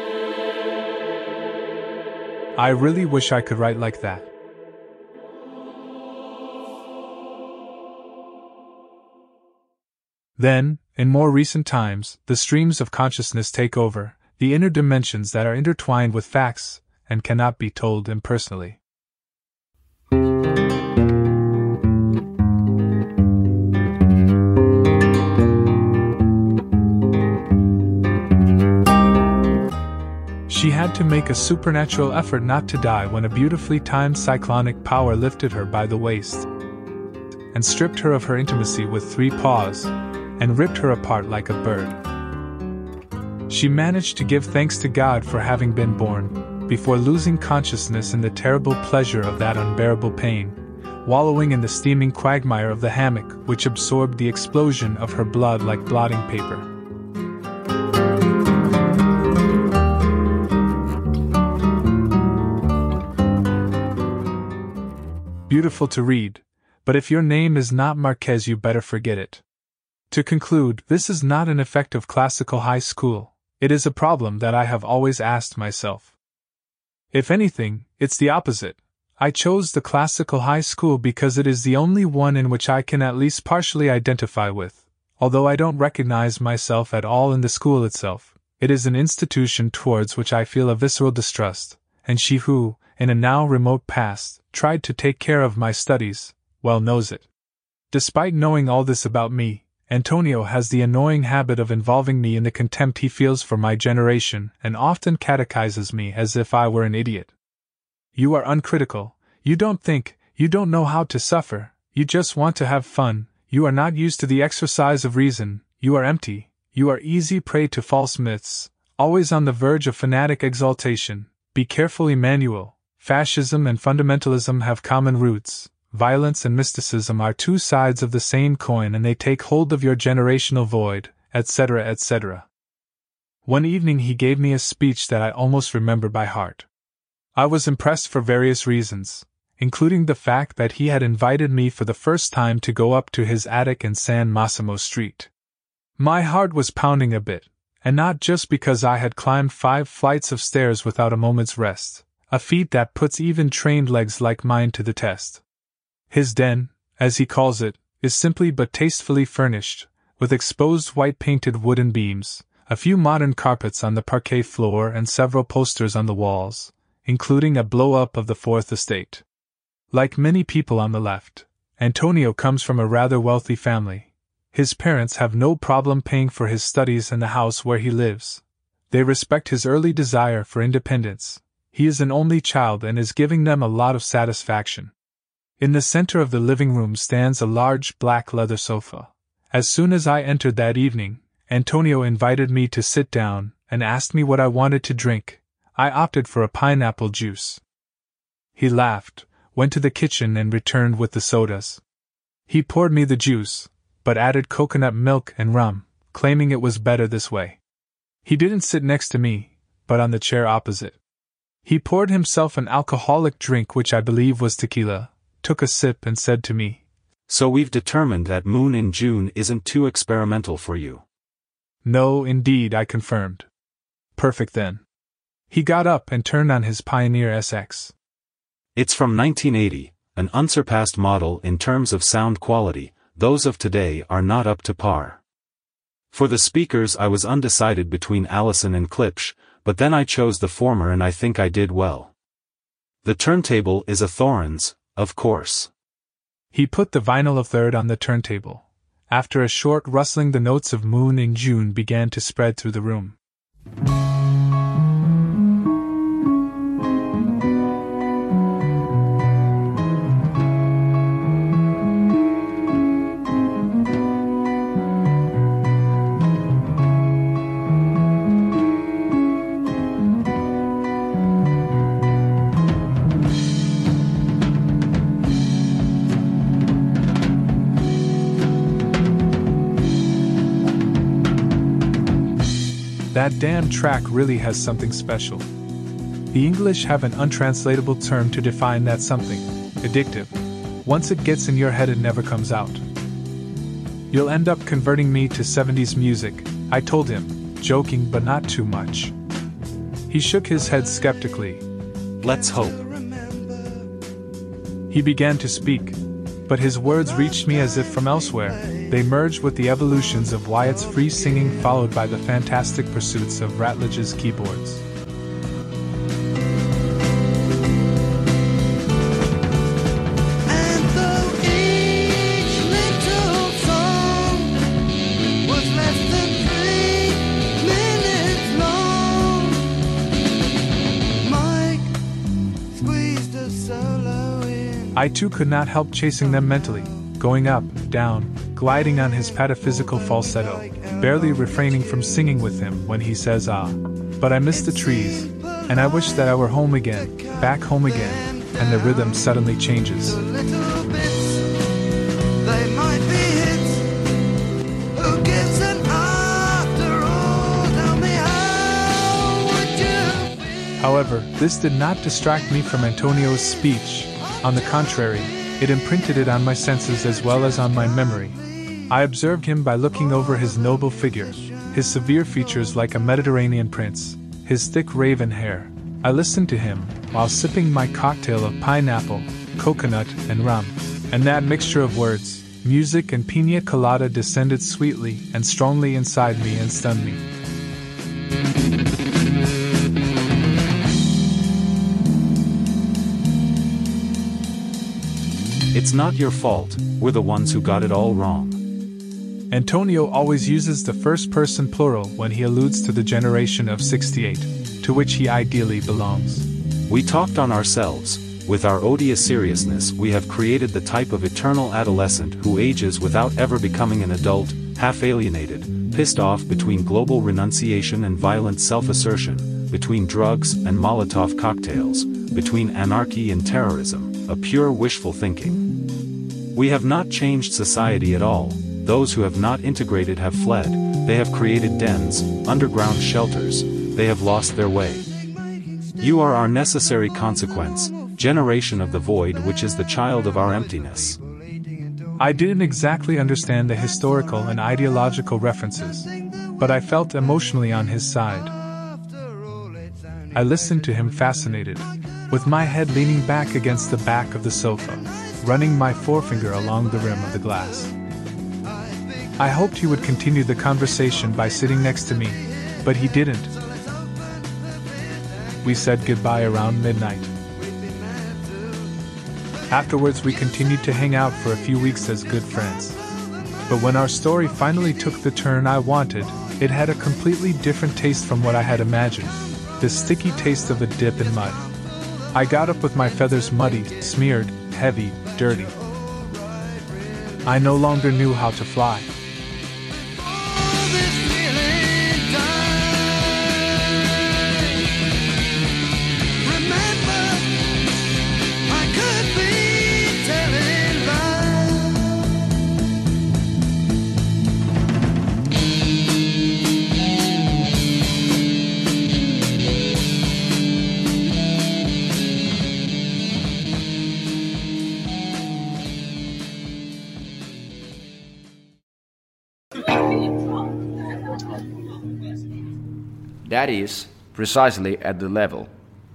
I really wish I could write like that. Then, in more recent times, the streams of consciousness take over, the inner dimensions that are intertwined with facts, and cannot be told impersonally. She had to make a supernatural effort not to die when a beautifully timed cyclonic power lifted her by the waist, and stripped her of her intimacy with three paws, and ripped her apart like a bird. She managed to give thanks to God for having been born, before losing consciousness in the terrible pleasure of that unbearable pain, wallowing in the steaming quagmire of the hammock which absorbed the explosion of her blood like blotting paper. Beautiful to read, but if your name is not Marquez, you better forget it. To conclude, this is not an effect of classical high school. It is a problem that I have always asked myself. If anything, it's the opposite. I chose the classical high school because it is the only one in which I can at least partially identify with. Although I don't recognize myself at all in the school itself, it is an institution towards which I feel a visceral distrust, and she who, in a now remote past, tried to take care of my studies, well knows it. Despite knowing all this about me, Antonio has the annoying habit of involving me in the contempt he feels for my generation and often catechizes me as if I were an idiot. You are uncritical, you don't think, you don't know how to suffer, you just want to have fun, you are not used to the exercise of reason, you are empty, you are easy prey to false myths, always on the verge of fanatic exaltation. Be careful, Emmanuel, fascism and fundamentalism have common roots. Violence and mysticism are two sides of the same coin and they take hold of your generational void, et cetera et cetera. One evening he gave me a speech that I almost remember by heart. I was impressed for various reasons, including the fact that he had invited me for the first time to go up to his attic in San Massimo Street. My heart was pounding a bit, and not just because I had climbed five flights of stairs without a moment's rest, a feat that puts even trained legs like mine to the test. His den, as he calls it, is simply but tastefully furnished, with exposed white painted wooden beams, a few modern carpets on the parquet floor and several posters on the walls, including a blow-up of the Fourth Estate. Like many people on the left, Antonio comes from a rather wealthy family. His parents have no problem paying for his studies and the house where he lives. They respect his early desire for independence. He is an only child and is giving them a lot of satisfaction. In the center of the living room stands a large black leather sofa. As soon as I entered that evening, Antonio invited me to sit down and asked me what I wanted to drink. I opted for a pineapple juice. He laughed, went to the kitchen and returned with the sodas. He poured me the juice, but added coconut milk and rum, claiming it was better this way. He didn't sit next to me, but on the chair opposite. He poured himself an alcoholic drink which I believe was tequila, took a sip and said to me, "So we've determined that Moon in June isn't too experimental for you." No, indeed, I confirmed. Perfect then. He got up and turned on his Pioneer S X. It's from nineteen eighty, an unsurpassed model in terms of sound quality. Those of today are not up to par. For the speakers I was undecided between Allison and Klipsch, but then I chose the former and I think I did well. The turntable is a Thorens, of course. He put the vinyl of third on the turntable. After a short rustling, the notes of Moon in June began to spread through the room. That damn track really has something special. The English have an untranslatable term to define that something: addictive. Once it gets in your head, it never comes out. You'll end up converting me to seventies music, I told him, joking but not too much. He shook his head skeptically. Let's hope. He began to speak, but his words reached me as if from elsewhere. They merged with the evolutions of Wyatt's free singing, followed by the fantastic pursuits of Ratledge's keyboards. And though each little song was less than three minutes long, Mike squeezed a solo in. I too could not help chasing them mentally, going up, down, gliding on his pataphysical falsetto, barely refraining from singing with him when he says ah. But I miss the trees, and I wish that I were home again, back home again, and the rhythm suddenly changes. The little bits, they might be hits. Who gives an after all? Tell me, how would you feel? However, this did not distract me from Antonio's speech. On the contrary, it imprinted it on my senses as well as on my memory. I observed him by looking over his noble figure, his severe features like a Mediterranean prince, his thick raven hair. I listened to him, while sipping my cocktail of pineapple, coconut, and rum. And that mixture of words, music and piña colada descended sweetly and strongly inside me and stunned me. It's not your fault, we're the ones who got it all wrong. Antonio always uses the first-person plural when he alludes to the generation of sixty-eight, to which he ideally belongs. We talked on ourselves. With our odious seriousness, we have created the type of eternal adolescent who ages without ever becoming an adult, half-alienated, pissed off between global renunciation and violent self-assertion, between drugs and Molotov cocktails, between anarchy and terrorism, a pure wishful thinking. We have not changed society at all. Those who have not integrated have fled. They have created dens, underground shelters. They have lost their way. You are our necessary consequence, generation of the void, which is the child of our emptiness. I didn't exactly understand the historical and ideological references, but I felt emotionally on his side. I listened to him fascinated, with my head leaning back against the back of the sofa, running my forefinger along the rim of the glass. I hoped he would continue the conversation by sitting next to me, but he didn't. We said goodbye around midnight. Afterwards, we continued to hang out for a few weeks as good friends. But when our story finally took the turn I wanted, it had a completely different taste from what I had imagined, the sticky taste of a dip in mud. I got up with my feathers muddy, smeared, heavy, dirty. I no longer knew how to fly. That is, precisely at the level.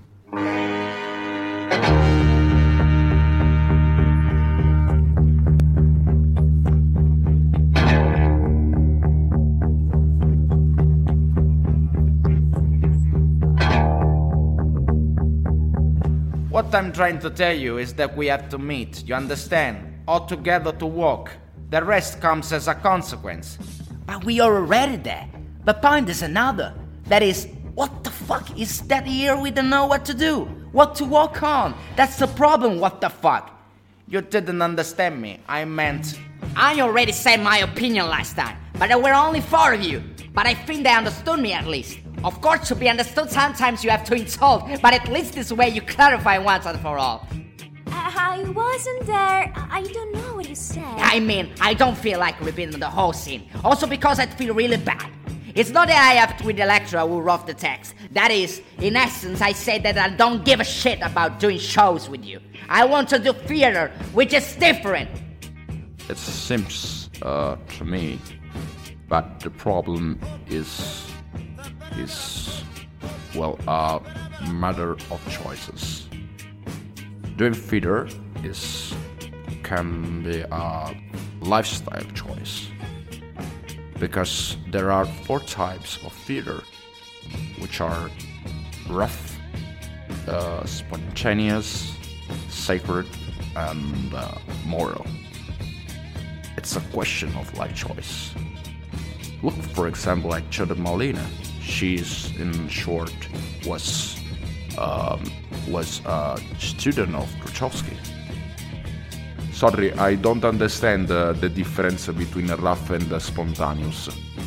What I'm trying to tell you is that we have to meet, you understand? All together to walk. The rest comes as a consequence. But we are already there. The point is another. That is, what the fuck is that here we don't know what to do? What to walk on? That's the problem, what the fuck? You didn't understand me. I meant... I already said my opinion last time, but there were only four of you. But I think they understood me at least. Of course, to be understood, sometimes you have to insult, but at least this way you clarify once and for all. I wasn't there. I don't know what you said. I mean, I don't feel like repeating the whole scene. Also because I feel really bad. It's not that I have to with the lecturer who wrote the text. That is, in essence, I said that I don't give a shit about doing shows with you. I want to do theater, which is different. It seems uh, to me, but the problem is, is, well, a matter of choices. Doing theater is can be a lifestyle choice, because there are four types of theater, which are rough, uh, spontaneous, sacred, and uh, moral. It's a question of life choice. Look, for example, at Chota Molina. She's, in short, was um, was a student of Grotowski. Sorry, I don't understand uh, the difference between rough and uh, spontaneous.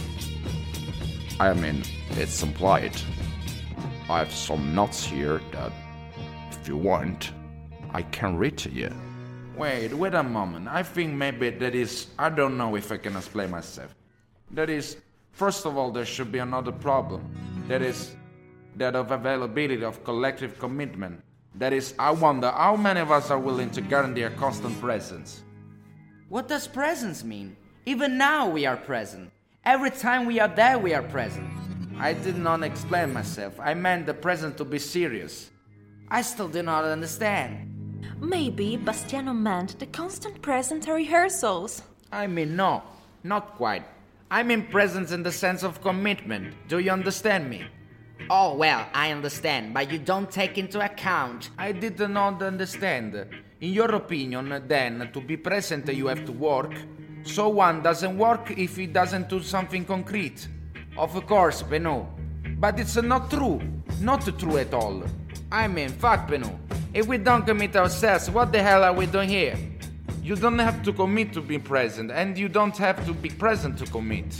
I mean, it's implied. I have some notes here that, if you want, I can read to you. Wait, wait a moment. I think maybe that is... I don't know if I can explain myself. That is, first of all, there should be another problem. That is, that of availability of collective commitment. That is, I wonder how many of us are willing to guarantee a constant presence. What does presence mean? Even now we are present. Every time we are there, we are present. I did not explain myself. I meant the present to be serious. I still do not understand. Maybe Bastiano meant the constant presence at rehearsals. I mean, no, not quite. I mean presence in the sense of commitment. Do you understand me? Oh, well, I understand, but you don't take into account. I did not understand. In your opinion, then, to be present you have to work? So one doesn't work if he doesn't do something concrete? Of course, Benoît. But it's not true. Not true at all. I mean, fuck Benoît. If we don't commit ourselves, what the hell are we doing here? You don't have to commit to be present, and you don't have to be present to commit.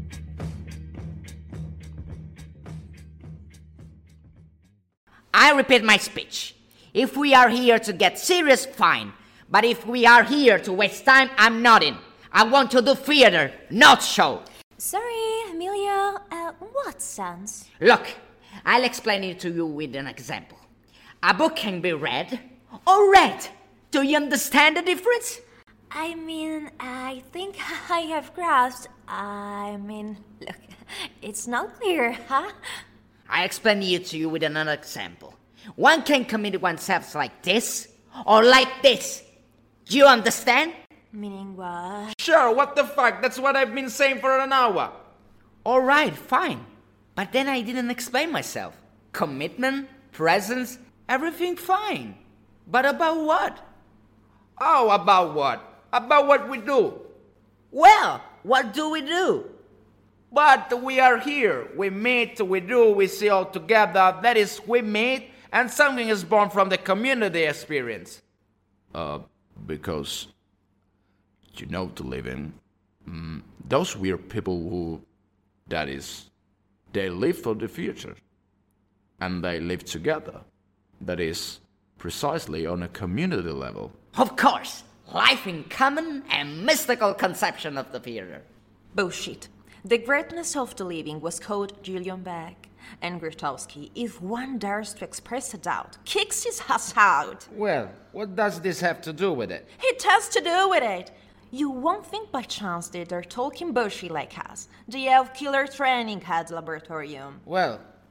I repeat my speech. If we are here to get serious, fine. But if we are here to waste time, I'm not in. I want to do theater, not show. Sorry, Emilio. Uh, what sense? Look, I'll explain it to you with an example. A book can be read or read. Do you understand the difference? I mean, I think I have grasped. I mean, look, it's not clear, huh? I explain it to you with another example. One can commit oneself like this or like this. Do you understand? Meaning what? Sure, what the fuck? That's what I've been saying for an hour. All right, fine. But then I didn't explain myself. Commitment, presence, everything fine. But about what? Oh, about what? About what we do. Well, what do we do? But we are here. We meet, we do, we see all together. That is, we meet, and something is born from the community experience. Uh, because, you know, to live in, mm, those weird people who, that is, they live for the future. And they live together. That is, precisely on a community level. Of course. Life in common and mystical conception of the theater. Bullshit. The greatness of the living was called Julian Beck, and Grotowski, if one dares to express a doubt, kicks his ass out. Well, what does this have to do with it? It has to do with it. You won't think by chance that they're talking bullshit like us. They have killer training at the laboratorium. Well,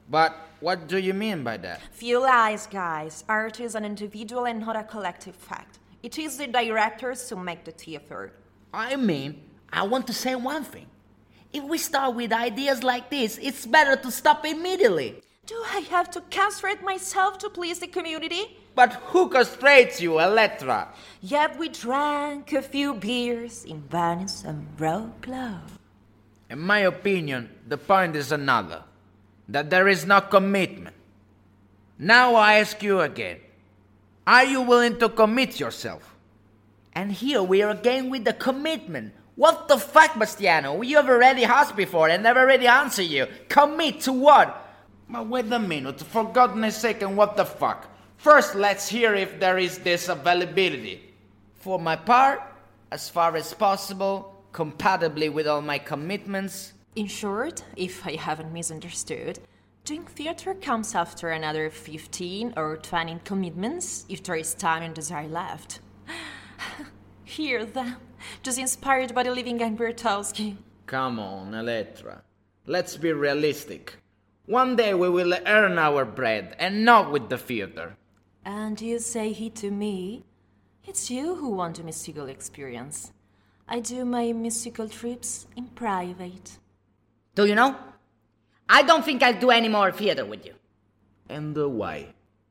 But what do you mean by that? Few lies, guys. Art is an individual and not a collective fact. It is the directors who make the theater. I mean, I want to say one thing. If we start with ideas like this, it's better to stop immediately. Do I have to castrate myself to please the community? But who castrates you, Electra? Yet we drank a few beers in Venice and broke love. In my opinion, the point is another. That there is no commitment. Now I ask you again. Are you willing to commit yourself? And here we are again with the commitment. What the fuck, Bastiano? You have already asked before and never already answered you. Commit to what? But wait a minute, for goodness sake, and what the fuck? First, let's hear if there is this availability. For my part, as far as possible, compatibly with all my commitments. In short, if I haven't misunderstood, doing theater comes after another fifteen or twenty commitments if there is time and desire left. Hear them, just inspired by the living Guy Bertowski. Come on, Electra. Let's be realistic. One day we will earn our bread, and not with the theater. And you say he to me? It's you who want a mystical experience. I do my mystical trips in private. Do you know? I don't think I'll do any more theater with you. And uh, why?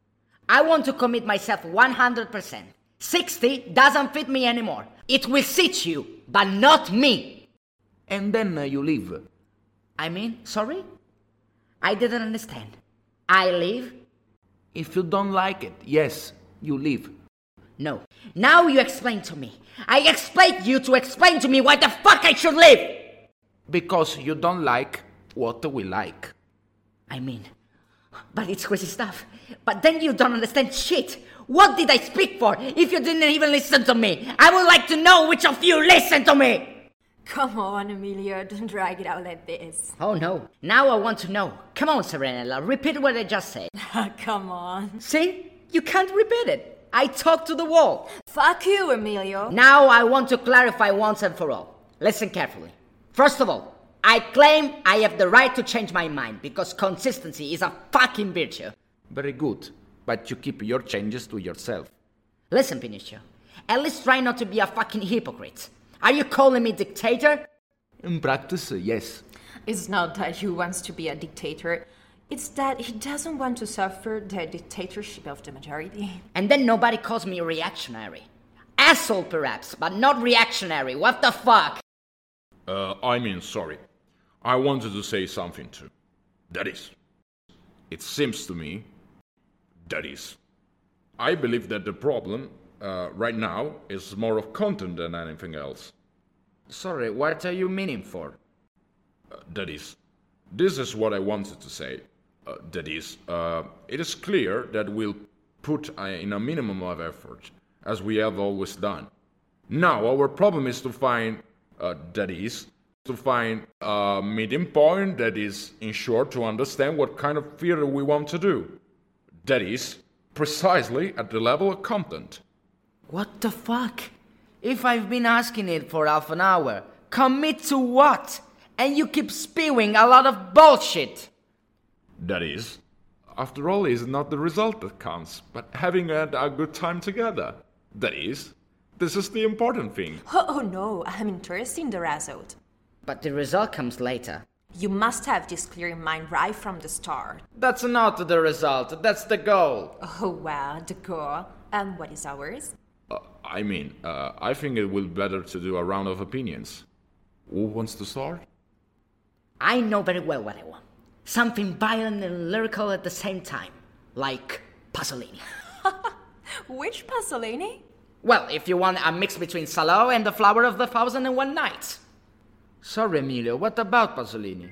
I want to commit myself one hundred percent. sixty doesn't fit me anymore. It will sit you, but not me. And then uh, you leave. I mean, sorry? I didn't understand. I leave? If you don't like it, yes, you leave. No. Now you explain to me. I expect you to explain to me why the fuck I should leave. Because you don't like what we like. I mean, but it's crazy stuff. But then you don't understand shit. What did I speak for if you didn't even listen to me? I would like to know which of you listened to me. Come on, Emilio, don't drag it out like this. Oh no, now I want to know. Come on, Serenella, repeat what I just said. Come on. See? You can't repeat it. I talk to the wall. Fuck you, Emilio. Now I want to clarify once and for all. Listen carefully. First of all, I claim I have the right to change my mind because consistency is a fucking virtue. Very good, but you keep your changes to yourself. Listen, Pinocchio, at least try not to be a fucking hypocrite. Are you calling me dictator? In practice, yes. It's not that he wants to be a dictator. It's that he doesn't want to suffer the dictatorship of the majority. And then nobody calls me reactionary. Asshole, perhaps, but not reactionary. What the fuck? Uh, I mean, sorry. I wanted to say something too. That is, it seems to me, that is, I believe that the problem uh, right now is more of content than anything else. Sorry, what are you meaning for? Uh, that is, this is what I wanted to say. Uh, that is, uh, it is clear that we'll put uh, in a minimum of effort, as we have always done. Now, our problem is to find, uh, that is, to find a meeting point that is, in short, to understand what kind of theater we want to do. That is, precisely at the level of content. What the fuck? If I've been asking it for half an hour, commit to what? And you keep spewing a lot of bullshit. That is, after all, it's not the result that counts, but having had a good time together. That is, this is the important thing. Oh, oh no, I'm interested in the result. But the result comes later. You must have this clear in mind right from the start. That's not the result, that's the goal. Oh, well, the goal. And what is ours? Uh, I mean, uh, I think it will be better to do a round of opinions. Who wants to start? I know very well what I want. Something violent and lyrical at the same time. Like Pasolini. Which Pasolini? Well, if you want a mix between Salo and The Flower of the Thousand and One Nights. Sorry, Emilio, what about Pasolini?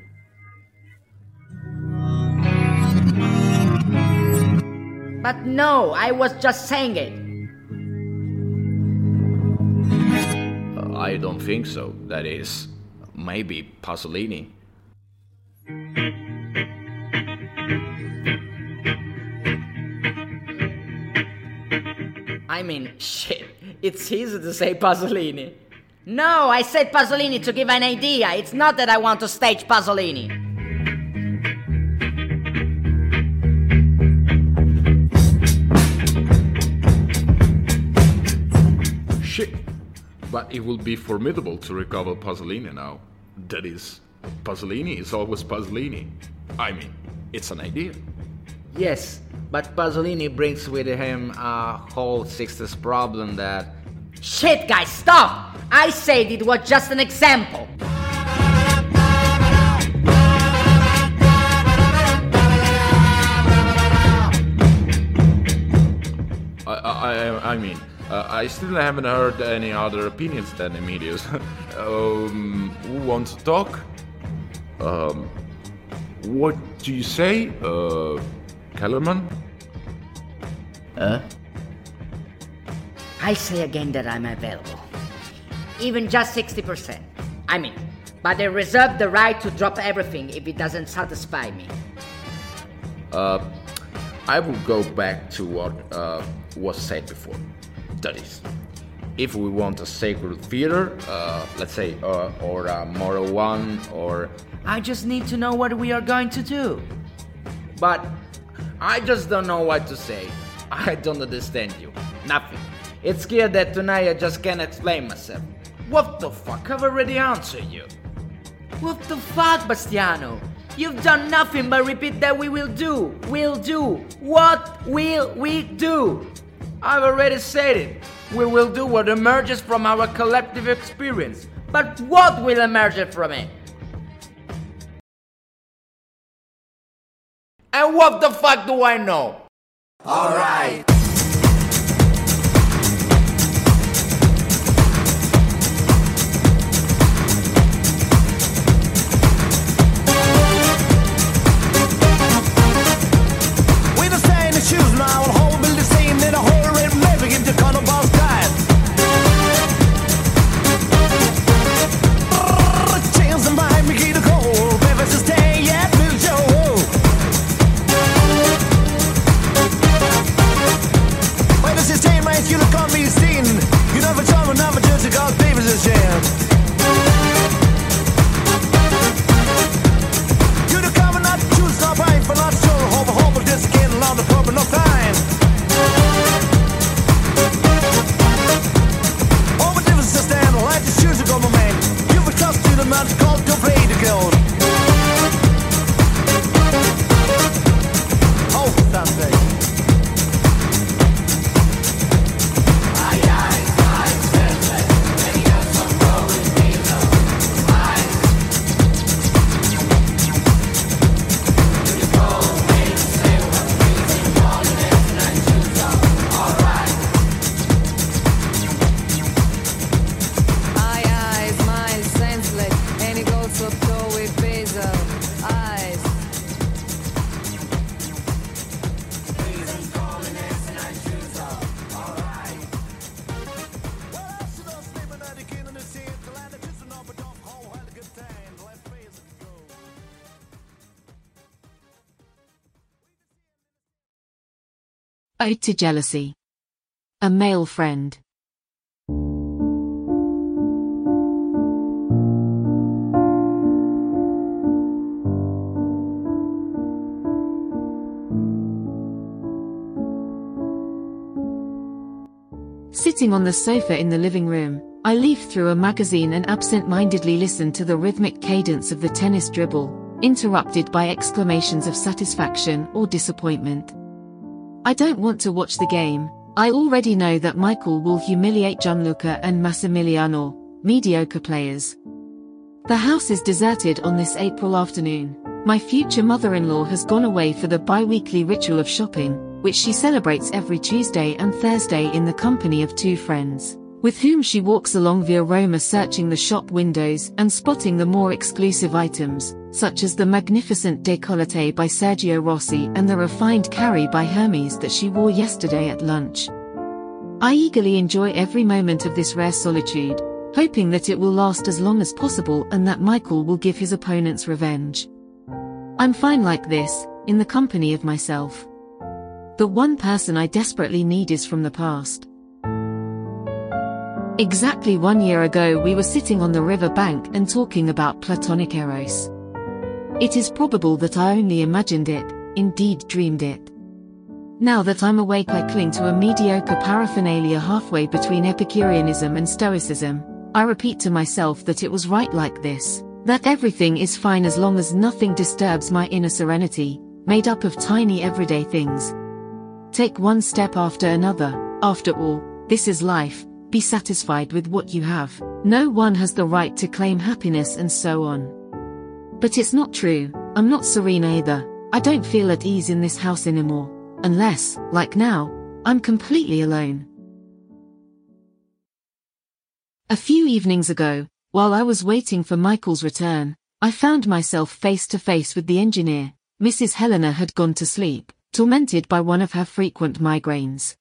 But no, I was just saying it. Uh, I don't think so. That is, maybe Pasolini. I mean, shit, it's easy to say Pasolini. No, I said Pasolini to give an idea. It's not that I want to stage Pasolini. But it will be formidable to recover Pasolini now. That is, Pasolini is always Pasolini. I mean, it's an idea. Yes, but Pasolini brings with him a whole sixties problem that... Shit, guys, stop! I said it was just an example. I, I, I mean, uh, I still haven't heard any other opinions than Emilio's. um, who wants to talk? Um, what do you say, uh, Kellerman? Huh? I say again that I'm available. Even just sixty percent. I mean, but I reserve the right to drop everything if it doesn't satisfy me. Uh, I will go back to what uh, was said before. That is, if we want a sacred theater, uh, let's say, uh, or a moral one, or... I just need to know what we are going to do. But I just don't know what to say. I don't understand you. Nothing. It's clear that tonight I just can't explain myself. What the fuck? I've already answered you. What the fuck, Bastiano? You've done nothing but repeat that we will do, will do. What will we do? I've already said it. We will do what emerges from our collective experience. But what will emerge from it? And what the fuck do I know? Alright. Choose now, the whole build the same, then a whole red never give the color boss time. Chance and behind me, get a cold, baby, so stay, yeah, Bill Joe. Wait, this is ten, man, you look on me, seen. You never tell me, never just because baby's a jam. You the cover, not choose, not right, but not sure, hope, hope, just get along the pub enough time. All the difference is stand, like the shoes of my man. You've a trust to the man, called your play to go. Oh, Sunday. Ode to Jealousy. A Male Friend. Sitting on the sofa in the living room, I leaf through a magazine and absent-mindedly listen to the rhythmic cadence of the tennis dribble, interrupted by exclamations of satisfaction or disappointment. I don't want to watch the game. I already know that Michael will humiliate Gianluca and Massimiliano, mediocre players. The house is deserted on this April afternoon. My future mother-in-law has gone away for the bi-weekly ritual of shopping, which she celebrates every Tuesday and Thursday in the company of two friends, with whom she walks along via Roma searching the shop windows and spotting the more exclusive items, such as the magnificent décolleté by Sergio Rossi and the refined carry by Hermes that she wore yesterday at lunch. I eagerly enjoy every moment of this rare solitude, hoping that it will last as long as possible and that Michael will give his opponents revenge. I'm fine like this, in the company of myself. The one person I desperately need is from the past. Exactly one year ago we were sitting on the river bank and talking about platonic eros. It is probable that I only imagined it, indeed dreamed it. Now that I'm awake, I cling to a mediocre paraphernalia halfway between Epicureanism and Stoicism. I repeat to myself that it was right like this, that everything is fine as long as nothing disturbs my inner serenity, made up of tiny everyday things. Take one step after another. After all, this is life. Be satisfied with what you have. No one has the right to claim happiness and so on. But it's not true. I'm not serene either. I don't feel at ease in this house anymore. Unless, like now, I'm completely alone. A few evenings ago, while I was waiting for Michael's return, I found myself face to face with the engineer. Missus Helena had gone to sleep, tormented by one of her frequent migraines.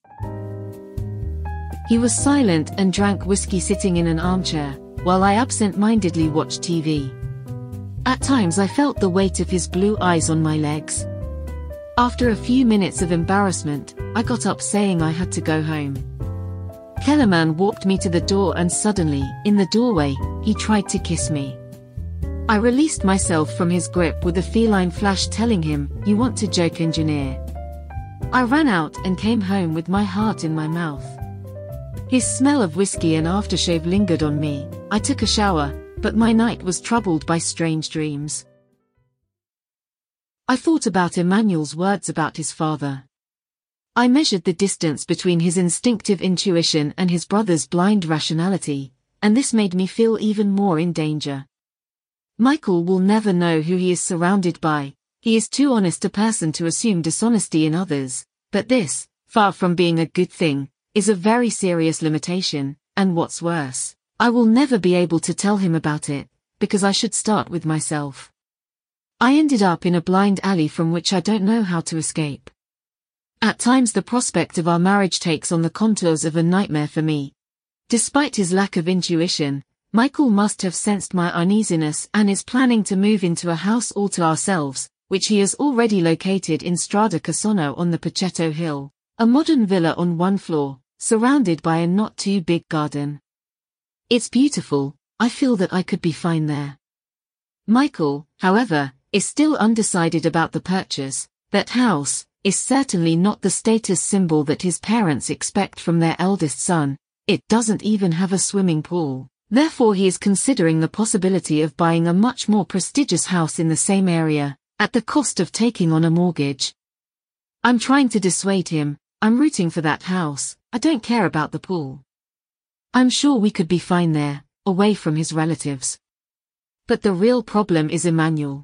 He was silent and drank whiskey sitting in an armchair, while I absent-mindedly watched T V. At times I felt the weight of his blue eyes on my legs. After a few minutes of embarrassment, I got up saying I had to go home. Kellerman walked me to the door and suddenly, in the doorway, he tried to kiss me. I released myself from his grip with a feline flash telling him, "You want to joke, engineer?" I ran out and came home with my heart in my mouth. His smell of whiskey and aftershave lingered on me. I took a shower, but my night was troubled by strange dreams. I thought about Emmanuel's words about his father. I measured the distance between his instinctive intuition and his brother's blind rationality, and this made me feel even more in danger. Michael will never know who he is surrounded by. He is too honest a person to assume dishonesty in others, but this, far from being a good thing, is a very serious limitation, and what's worse, I will never be able to tell him about it, because I should start with myself. I ended up in a blind alley from which I don't know how to escape. At times the prospect of our marriage takes on the contours of a nightmare for me. Despite his lack of intuition, Michael must have sensed my uneasiness and is planning to move into a house all to ourselves, which he has already located in Strada Cassano on the Pachetto Hill, a modern villa on one floor, surrounded by a not too big garden. It's beautiful. I feel that I could be fine there. Michael, however, is still undecided about the purchase. That house is certainly not the status symbol that his parents expect from their eldest son. It doesn't even have a swimming pool. Therefore he is considering the possibility of buying a much more prestigious house in the same area, at the cost of taking on a mortgage. I'm trying to dissuade him. I'm rooting for that house. I don't care about the pool. I'm sure we could be fine there, away from his relatives. But the real problem is Emmanuel.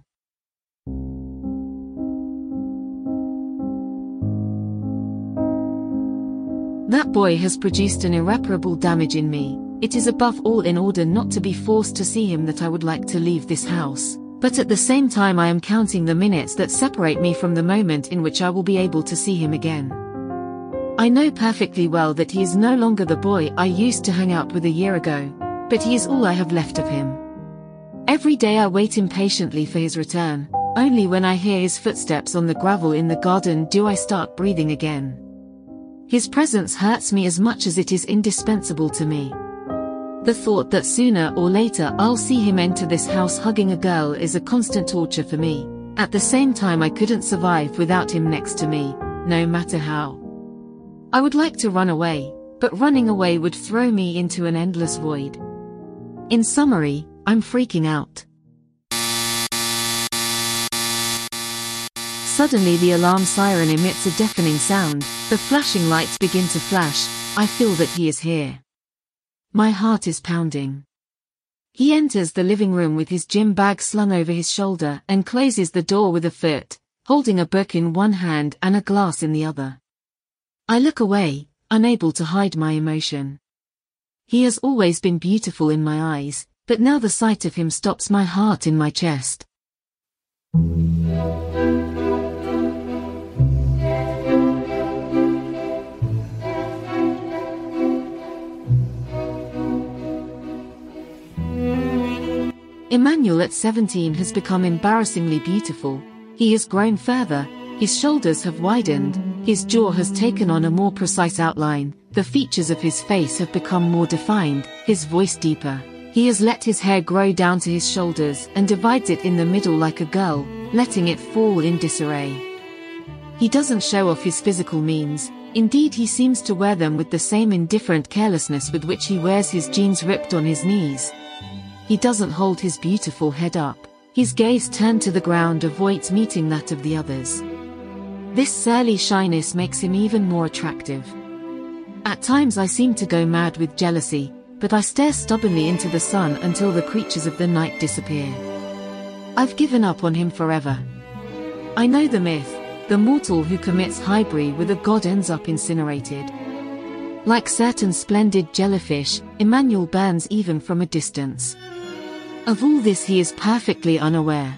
That boy has produced an irreparable damage in me. It is above all in order not to be forced to see him that I would like to leave this house, but at the same time I am counting the minutes that separate me from the moment in which I will be able to see him again. I know perfectly well that he is no longer the boy I used to hang out with a year ago, but he is all I have left of him. Every day I wait impatiently for his return. Only when I hear his footsteps on the gravel in the garden do I start breathing again. His presence hurts me as much as it is indispensable to me. The thought that sooner or later I'll see him enter this house hugging a girl is a constant torture for me. At the same time I couldn't survive without him next to me, no matter how. I would like to run away, but running away would throw me into an endless void. In summary, I'm freaking out. Suddenly the alarm siren emits a deafening sound, the flashing lights begin to flash. I feel that he is here. My heart is pounding. He enters the living room with his gym bag slung over his shoulder and closes the door with a foot, holding a book in one hand and a glass in the other. I look away, unable to hide my emotion. He has always been beautiful in my eyes, but now the sight of him stops my heart in my chest. Emmanuel at seventeen has become embarrassingly beautiful. He has grown further, his shoulders have widened, his jaw has taken on a more precise outline, the features of his face have become more defined, his voice deeper. He has let his hair grow down to his shoulders and divides it in the middle like a girl, letting it fall in disarray. He doesn't show off his physical means, indeed he seems to wear them with the same indifferent carelessness with which he wears his jeans ripped on his knees. He doesn't hold his beautiful head up, his gaze turned to the ground avoids meeting that of the others. This surly shyness makes him even more attractive. At times I seem to go mad with jealousy, but I stare stubbornly into the sun until the creatures of the night disappear. I've given up on him forever. I know the myth, the mortal who commits highbrew with a god ends up incinerated. Like certain splendid jellyfish, Emmanuel burns even from a distance. Of all this he is perfectly unaware.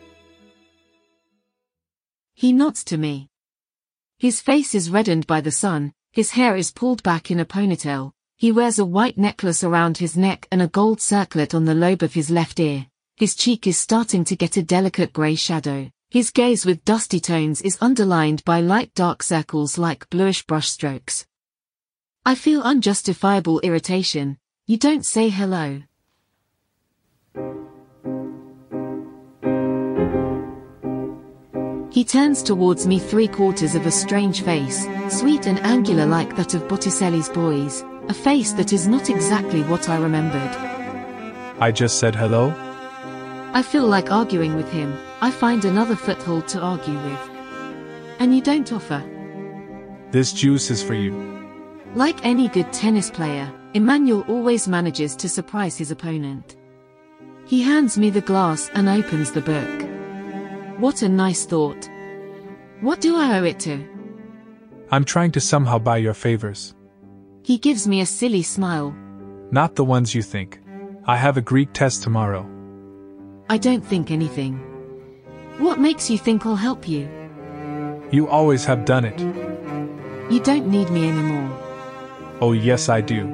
He nods to me. His face is reddened by the sun, his hair is pulled back in a ponytail, he wears a white necklace around his neck and a gold circlet on the lobe of his left ear, his cheek is starting to get a delicate grey shadow, his gaze with dusty tones is underlined by light dark circles like bluish brushstrokes. I feel unjustifiable irritation. You don't say hello. He turns towards me three quarters of a strange face, sweet and angular like that of Botticelli's boys, a face that is not exactly what I remembered. I just said hello? I feel like arguing with him, I find another foothold to argue with. And you don't offer. This juice is for you. Like any good tennis player, Emmanuel always manages to surprise his opponent. He hands me the glass and opens the book. What a nice thought. What do I owe it to? I'm trying to somehow buy your favors. He gives me a silly smile. Not the ones you think. I have a Greek test tomorrow. I don't think anything. What makes you think I'll help you? You always have done it. You don't need me anymore. Oh yes I do.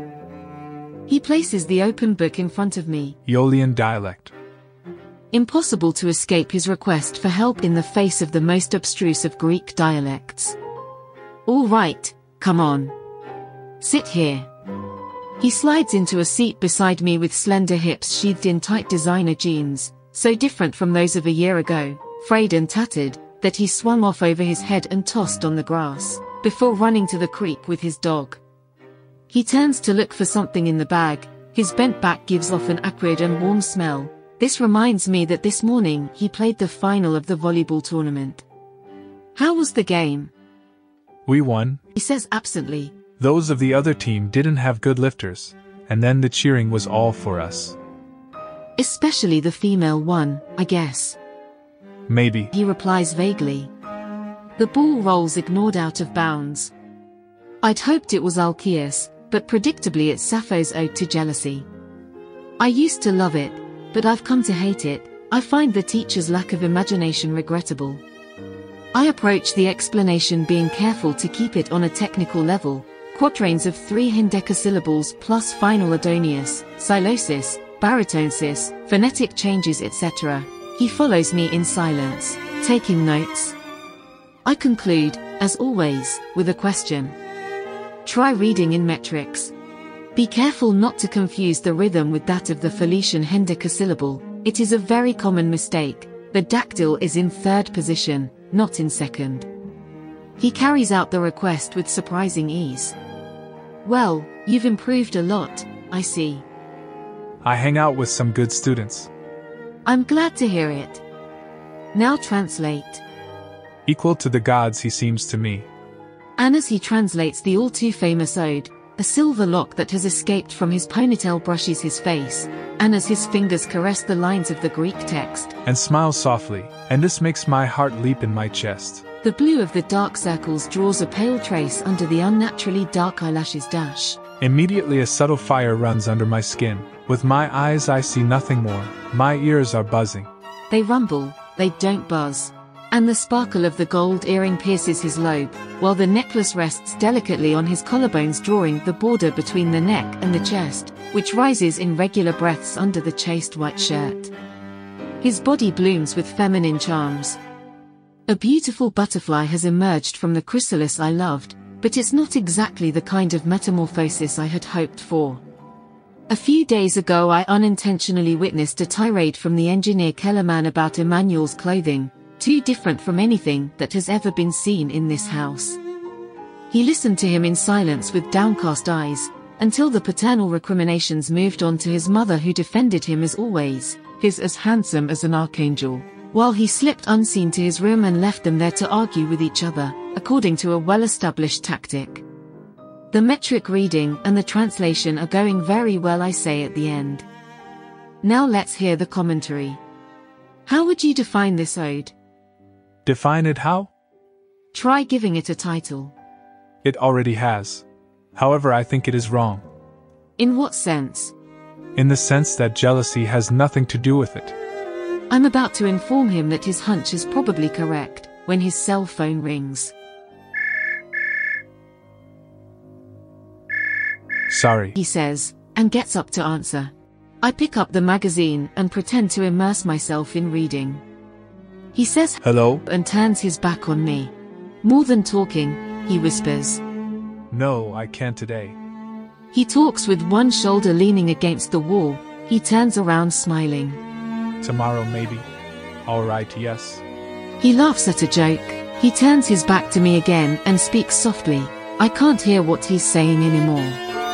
He places the open book in front of me. Aeolian dialect. Impossible to escape his request for help in the face of the most abstruse of Greek dialects. All right, come on. Sit here. He slides into a seat beside me with slender hips sheathed in tight designer jeans, so different from those of a year ago, frayed and tattered, that he swung off over his head and tossed on the grass, before running to the creek with his dog. He turns to look for something in the bag, his bent back gives off an acrid and warm smell. This reminds me that this morning he played the final of the volleyball tournament. How was the game? We won, he says absently. Those of the other team didn't have good lifters, and then the cheering was all for us. Especially the female one, I guess. Maybe, he replies vaguely. The ball rolls ignored out of bounds. I'd hoped it was Alcaeus, but predictably it's Sappho's ode to jealousy. I used to love it, but I've come to hate it. I find the teacher's lack of imagination regrettable. I approach the explanation being careful to keep it on a technical level. Quatrains of three hendecasyllables plus final Adonius, Silosis, Baritonesis, phonetic changes et cetera. He follows me in silence, taking notes. I conclude, as always, with a question. Try reading in metrics. Be careful not to confuse the rhythm with that of the Phoenician hendecasyllable. It is a very common mistake. The dactyl is in third position, not in second. He carries out the request with surprising ease. Well, you've improved a lot, I see. I hang out with some good students. I'm glad to hear it. Now translate. Equal to the gods he seems to me. And as he translates the all-too-famous ode, a silver lock that has escaped from his ponytail brushes his face, and as his fingers caress the lines of the Greek text, and smiles softly, and this makes my heart leap in my chest. The blue of the dark circles draws a pale trace under the unnaturally dark eyelashes dash. Immediately a subtle fire runs under my skin. With my eyes I see nothing more, my ears are buzzing. They rumble, they don't buzz. And the sparkle of the gold earring pierces his lobe, while the necklace rests delicately on his collarbones, drawing the border between the neck and the chest, which rises in regular breaths under the chaste white shirt. His body blooms with feminine charms. A beautiful butterfly has emerged from the chrysalis I loved, but it's not exactly the kind of metamorphosis I had hoped for. A few days ago I unintentionally witnessed a tirade from the engineer Kellerman about Emmanuel's clothing, too different from anything that has ever been seen in this house. He listened to him in silence with downcast eyes, until the paternal recriminations moved on to his mother, who defended him as always, his as handsome as an archangel, while he slipped unseen to his room and left them there to argue with each other, according to a well-established tactic. The metric reading and the translation are going very well, I say at the end. Now let's hear the commentary. How would you define this ode? Define it how? Try giving it a title. It already has. However, I think it is wrong. In what sense? In the sense that jealousy has nothing to do with it. I'm about to inform him that his hunch is probably correct, when his cell phone rings. Sorry, he says, and gets up to answer. I pick up the magazine and pretend to immerse myself in reading. He says hello and turns his back on me. More than talking, he whispers. No, I can't today. He talks with one shoulder leaning against the wall. He turns around smiling. Tomorrow maybe. All right, yes. He laughs at a joke. He turns his back to me again and speaks softly. I can't hear what he's saying anymore.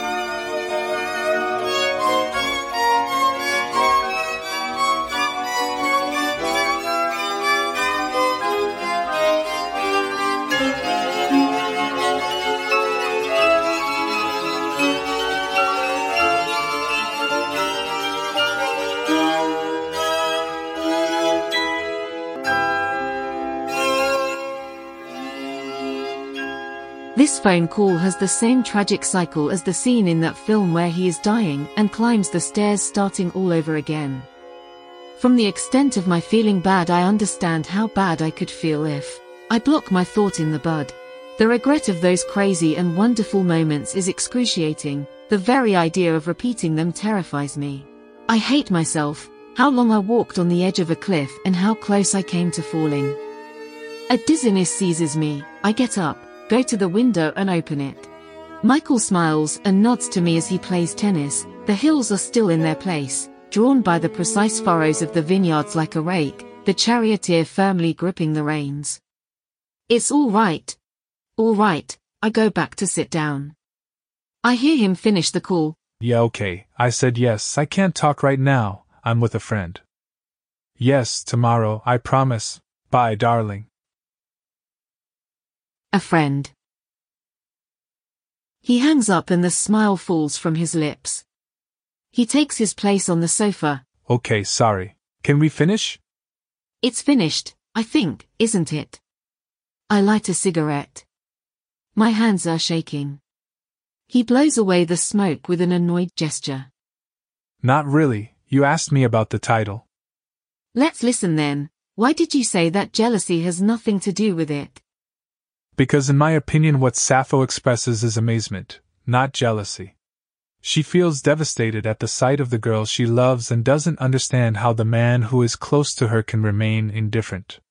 This phone call has the same tragic cycle as the scene in that film where he is dying and climbs the stairs, starting all over again. From the extent of my feeling bad, I understand how bad I could feel if I block my thought in the bud. The regret of those crazy and wonderful moments is excruciating. The very idea of repeating them terrifies me. I hate myself, how long I walked on the edge of a cliff and how close I came to falling. A dizziness seizes me. I get up, go to the window and open it. Michael smiles and nods to me as he plays tennis. The hills are still in their place, drawn by the precise furrows of the vineyards like a rake, the charioteer firmly gripping the reins. It's all right. All right, I go back to sit down. I hear him finish the call. Yeah, okay, I said yes, I can't talk right now, I'm with a friend. Yes, tomorrow, I promise. Bye, darling. A friend. He hangs up and the smile falls from his lips. He takes his place on the sofa. Okay, sorry. Can we finish? It's finished, I think, isn't it? I light a cigarette. My hands are shaking. He blows away the smoke with an annoyed gesture. Not really, you asked me about the title. Let's listen then. Why did you say that jealousy has nothing to do with it? Because in my opinion what Sappho expresses is amazement, not jealousy. She feels devastated at the sight of the girl she loves and doesn't understand how the man who is close to her can remain indifferent.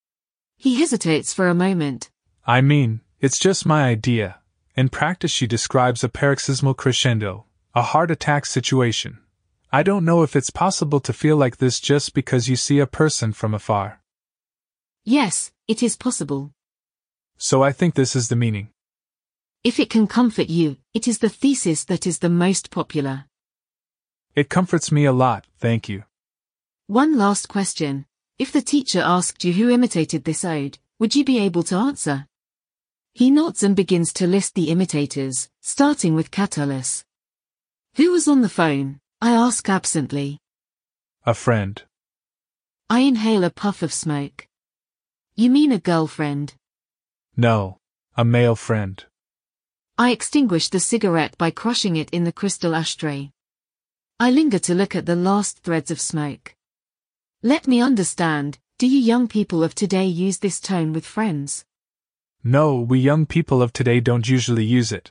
He hesitates for a moment. I mean, it's just my idea. In practice she describes a paroxysmal crescendo, a heart attack situation. I don't know if it's possible to feel like this just because you see a person from afar. Yes, it is possible. So I think this is the meaning. If it can comfort you, it is the thesis that is the most popular. It comforts me a lot, thank you. One last question. If the teacher asked you who imitated this ode, would you be able to answer? He nods and begins to list the imitators, starting with Catullus. Who was on the phone? I ask absently. A friend. I inhale a puff of smoke. You mean a girlfriend? No, a male friend. I extinguish the cigarette by crushing it in the crystal ashtray. I linger to look at the last threads of smoke. Let me understand, do you young people of today use this tone with friends? No, we young people of today don't usually use it.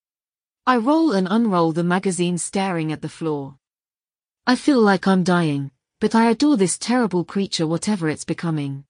I roll and unroll the magazine, staring at the floor. I feel like I'm dying, but I adore this terrible creature, whatever it's becoming.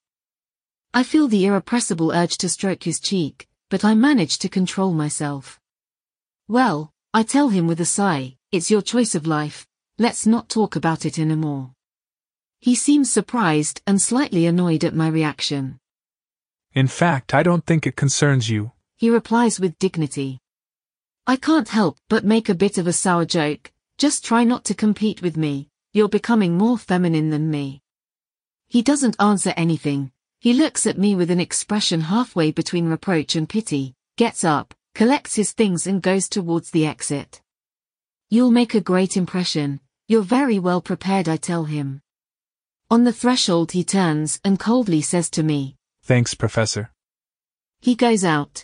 I feel the irrepressible urge to stroke his cheek, but I manage to control myself. Well, I tell him with a sigh, it's your choice of life, let's not talk about it anymore. He seems surprised and slightly annoyed at my reaction. In fact, I don't think it concerns you, he replies with dignity. I can't help but make a bit of a sour joke. Just try not to compete with me. You're becoming more feminine than me. He doesn't answer anything. He looks at me with an expression halfway between reproach and pity, gets up, collects his things and goes towards the exit. You'll make a great impression. You're very well prepared, I tell him. On the threshold he turns and coldly says to me, Thanks, Professor. He goes out.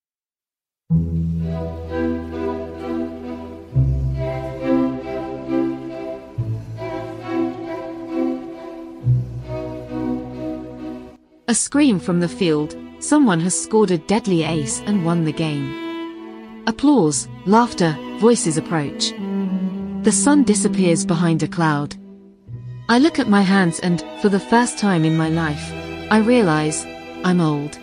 A scream from the field. Someone has scored a deadly ace and won the game. Applause, laughter, voices approach. The sun disappears behind a cloud. I look at my hands and, for the first time in my life, I realize I'm old.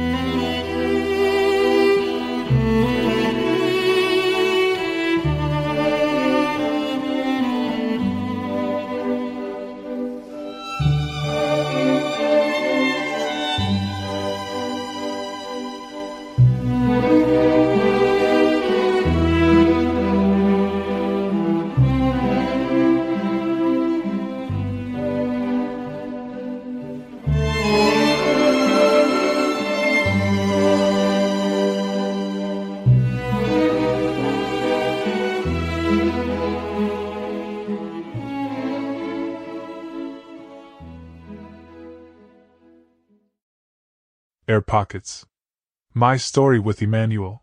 Air Pockets. My Story with Emmanuel.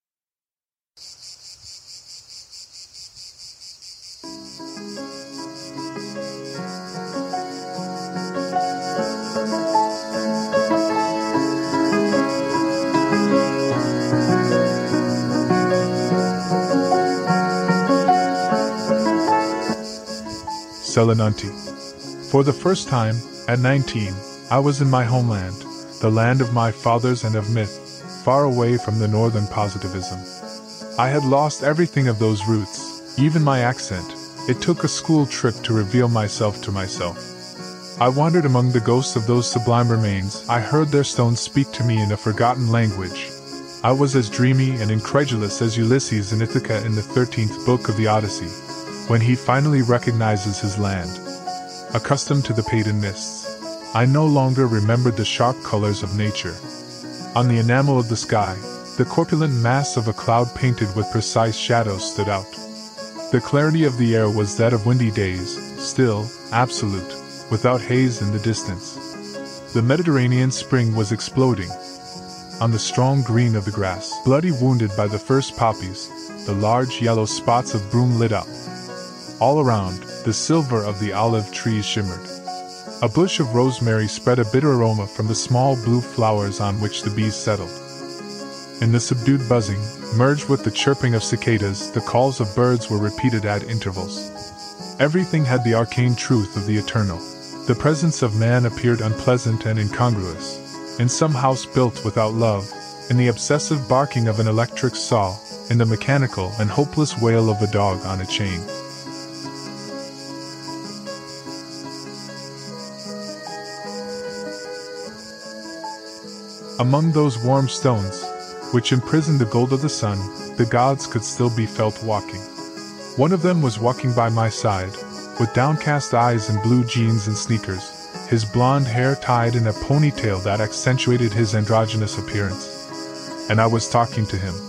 Selinunti. For the first time, at nineteen, I was in my homeland, the land of my fathers and of myth, far away from the northern positivism. I had lost everything of those roots, even my accent. It took a school trip to reveal myself to myself. I wandered among the ghosts of those sublime remains. I heard their stones speak to me in a forgotten language. I was as dreamy and incredulous as Ulysses in Ithaca in the thirteenth book of the Odyssey, when he finally recognizes his land. Accustomed to the pagan mists, I no longer remembered the sharp colors of nature. On the enamel of the sky, the corpulent mass of a cloud painted with precise shadows stood out. The clarity of the air was that of windy days, still, absolute, without haze in the distance. The Mediterranean spring was exploding. On the strong green of the grass, bloody wounded by the first poppies, the large yellow spots of broom lit up. All around, the silver of the olive trees shimmered. A bush of rosemary spread a bitter aroma from the small blue flowers on which the bees settled. In the subdued buzzing, merged with the chirping of cicadas, the calls of birds were repeated at intervals. Everything had the arcane truth of the eternal. The presence of man appeared unpleasant and incongruous. In some house built without love, in the obsessive barking of an electric saw, in the mechanical and hopeless wail of a dog on a chain. Among those warm stones, which imprisoned the gold of the sun, the gods could still be felt walking. One of them was walking by my side, with downcast eyes and blue jeans and sneakers, his blonde hair tied in a ponytail that accentuated his androgynous appearance. And I was talking to him.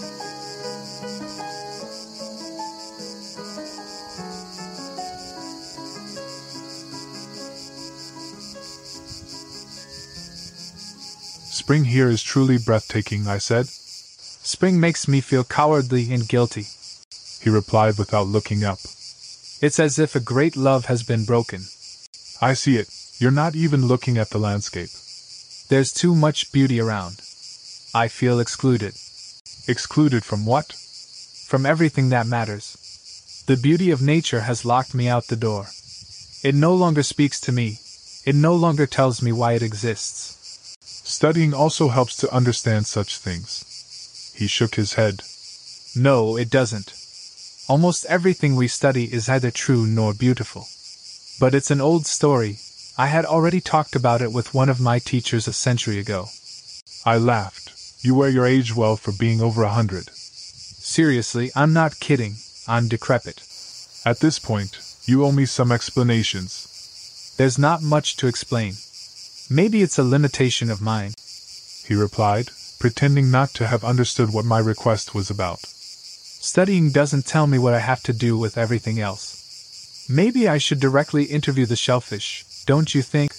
Spring here is truly breathtaking, I said. Spring makes me feel cowardly and guilty, he replied without looking up. It's as if a great love has been broken. I see it. You're not even looking at the landscape. There's too much beauty around. I feel excluded. Excluded from what? From everything that matters. The beauty of nature has locked me out the door. It no longer speaks to me. It no longer tells me why it exists. Studying also helps to understand such things. He shook his head. No, it doesn't. Almost everything we study is neither true nor beautiful. But it's an old story, I had already talked about it with one of my teachers a century ago. I laughed. You wear your age well for being over a hundred. Seriously, I'm not kidding. I'm decrepit. At this point, you owe me some explanations. There's not much to explain. Maybe it's a limitation of mine, he replied, pretending not to have understood what my request was about. Studying doesn't tell me what I have to do with everything else. Maybe I should directly interview the shellfish, don't you think?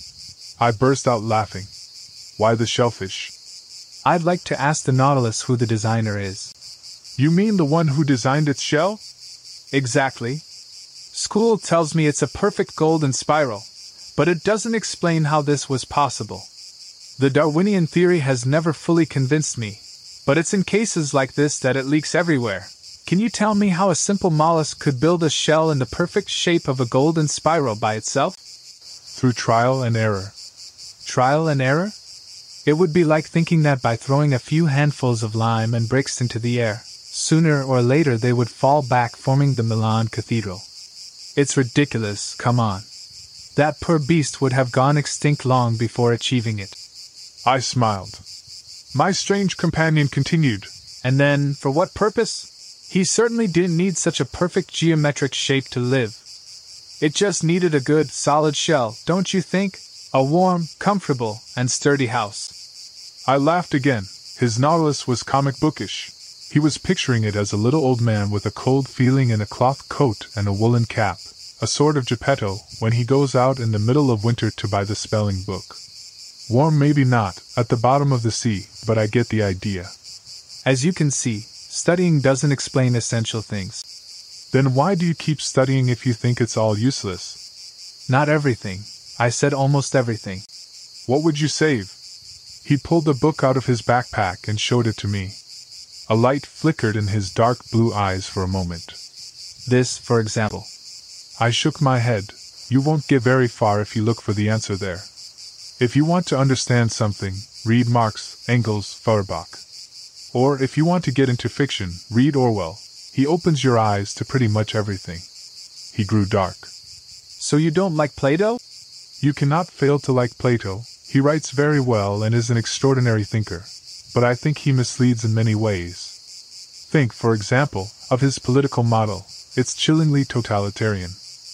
I burst out laughing. Why the shellfish? I'd like to ask the Nautilus who the designer is. You mean the one who designed its shell? Exactly. School tells me it's a perfect golden spiral, but it doesn't explain how this was possible. The Darwinian theory has never fully convinced me, but it's in cases like this that it leaks everywhere. Can you tell me how a simple mollusk could build a shell in the perfect shape of a golden spiral by itself? Through trial and error. Trial and error? It would be like thinking that by throwing a few handfuls of lime and bricks into the air, sooner or later they would fall back, forming the Milan Cathedral. It's ridiculous, come on. That poor beast would have gone extinct long before achieving it. I smiled. My strange companion continued. And then, for what purpose? He certainly didn't need such a perfect geometric shape to live. It just needed a good, solid shell, don't you think? A warm, comfortable, and sturdy house. I laughed again. His Nautilus was comic bookish. He was picturing it as a little old man with a cold feeling in a cloth coat and a woolen cap, a sort of Geppetto, when he goes out in the middle of winter to buy the spelling book. Warm maybe not, at the bottom of the sea, but I get the idea. As you can see, studying doesn't explain essential things. Then why do you keep studying if you think it's all useless? Not everything. I said almost everything. What would you save? He pulled the book out of his backpack and showed it to me. A light flickered in his dark blue eyes for a moment. This, for example. I shook my head. You won't get very far if you look for the answer there. If you want to understand something, read Marx, Engels, Feuerbach. Or if you want to get into fiction, read Orwell. He opens your eyes to pretty much everything. He grew dark. So you don't like Plato? You cannot fail to like Plato. He writes very well and is an extraordinary thinker. But I think he misleads in many ways. Think, for example, of his political model. It's chillingly totalitarian.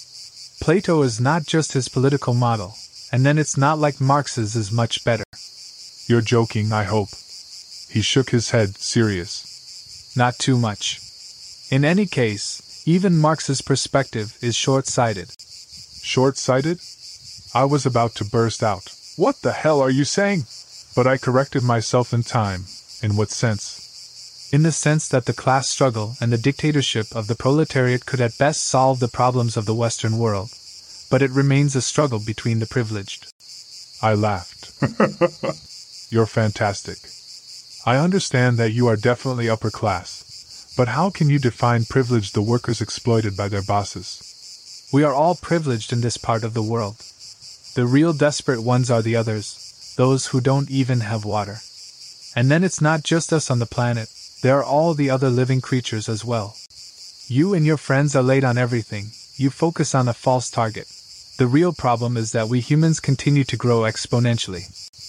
Plato is not just his political model, and then it's not like Marx's is much better. You're joking, I hope. He shook his head, serious. Not too much. In any case, even Marx's perspective is short-sighted. Short-sighted? I was about to burst out. What the hell are you saying? But I corrected myself in time. In what sense? In the sense that the class struggle and the dictatorship of the proletariat could at best solve the problems of the Western world, but it remains a struggle between the privileged. I laughed. You're fantastic. I understand that you are definitely upper class, but how can you define privilege the workers exploited by their bosses? We are all privileged in this part of the world. The real desperate ones are the others, those who don't even have water. And then it's not just us on the planet, there are all the other living creatures as well. You and your friends are late on everything, you focus on a false target. The real problem is that we humans continue to grow exponentially.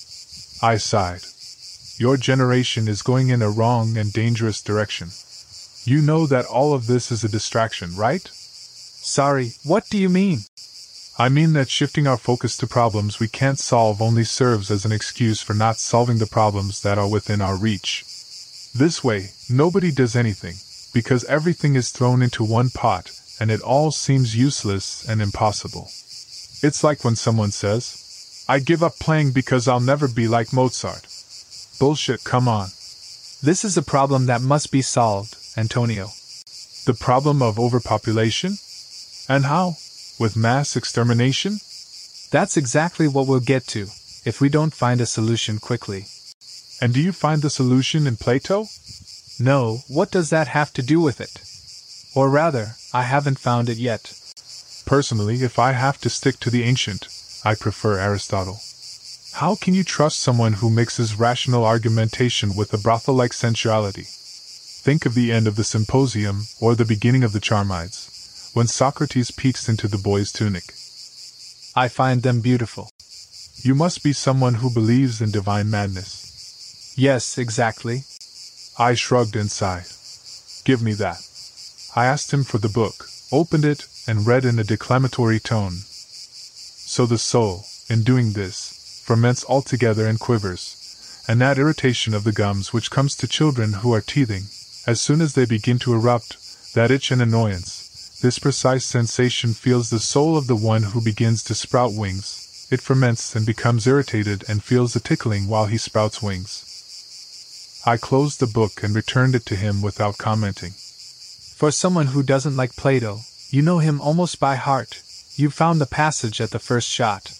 I sighed. Your generation is going in a wrong and dangerous direction. You know that all of this is a distraction, right? Sorry, what do you mean? I mean that shifting our focus to problems we can't solve only serves as an excuse for not solving the problems that are within our reach. This way, nobody does anything, because everything is thrown into one pot, and it all seems useless and impossible. It's like when someone says, I give up playing because I'll never be like Mozart. Bullshit, come on. This is a problem that must be solved, Antonio. The problem of overpopulation? And how? With mass extermination? That's exactly what we'll get to, if we don't find a solution quickly. And do you find the solution in Plato? No, what does that have to do with it? Or rather, I haven't found it yet. Personally, if I have to stick to the ancient, I prefer Aristotle. How can you trust someone who mixes rational argumentation with a brothel-like sensuality? Think of the end of the Symposium, or the beginning of the Charmides, when Socrates peeks into the boy's tunic. I find them beautiful. You must be someone who believes in divine madness. Yes, exactly. I shrugged and sighed. Give me that. I asked him for the book, opened it, and read in a declamatory tone. So the soul, in doing this, ferments altogether and quivers, and that irritation of the gums which comes to children who are teething, as soon as they begin to erupt, that itch and annoyance, this precise sensation feels the soul of the one who begins to sprout wings. It ferments and becomes irritated and feels the tickling while he sprouts wings. I closed the book and returned it to him without commenting. For someone who doesn't like Plato, you know him almost by heart. You found the passage at the first shot.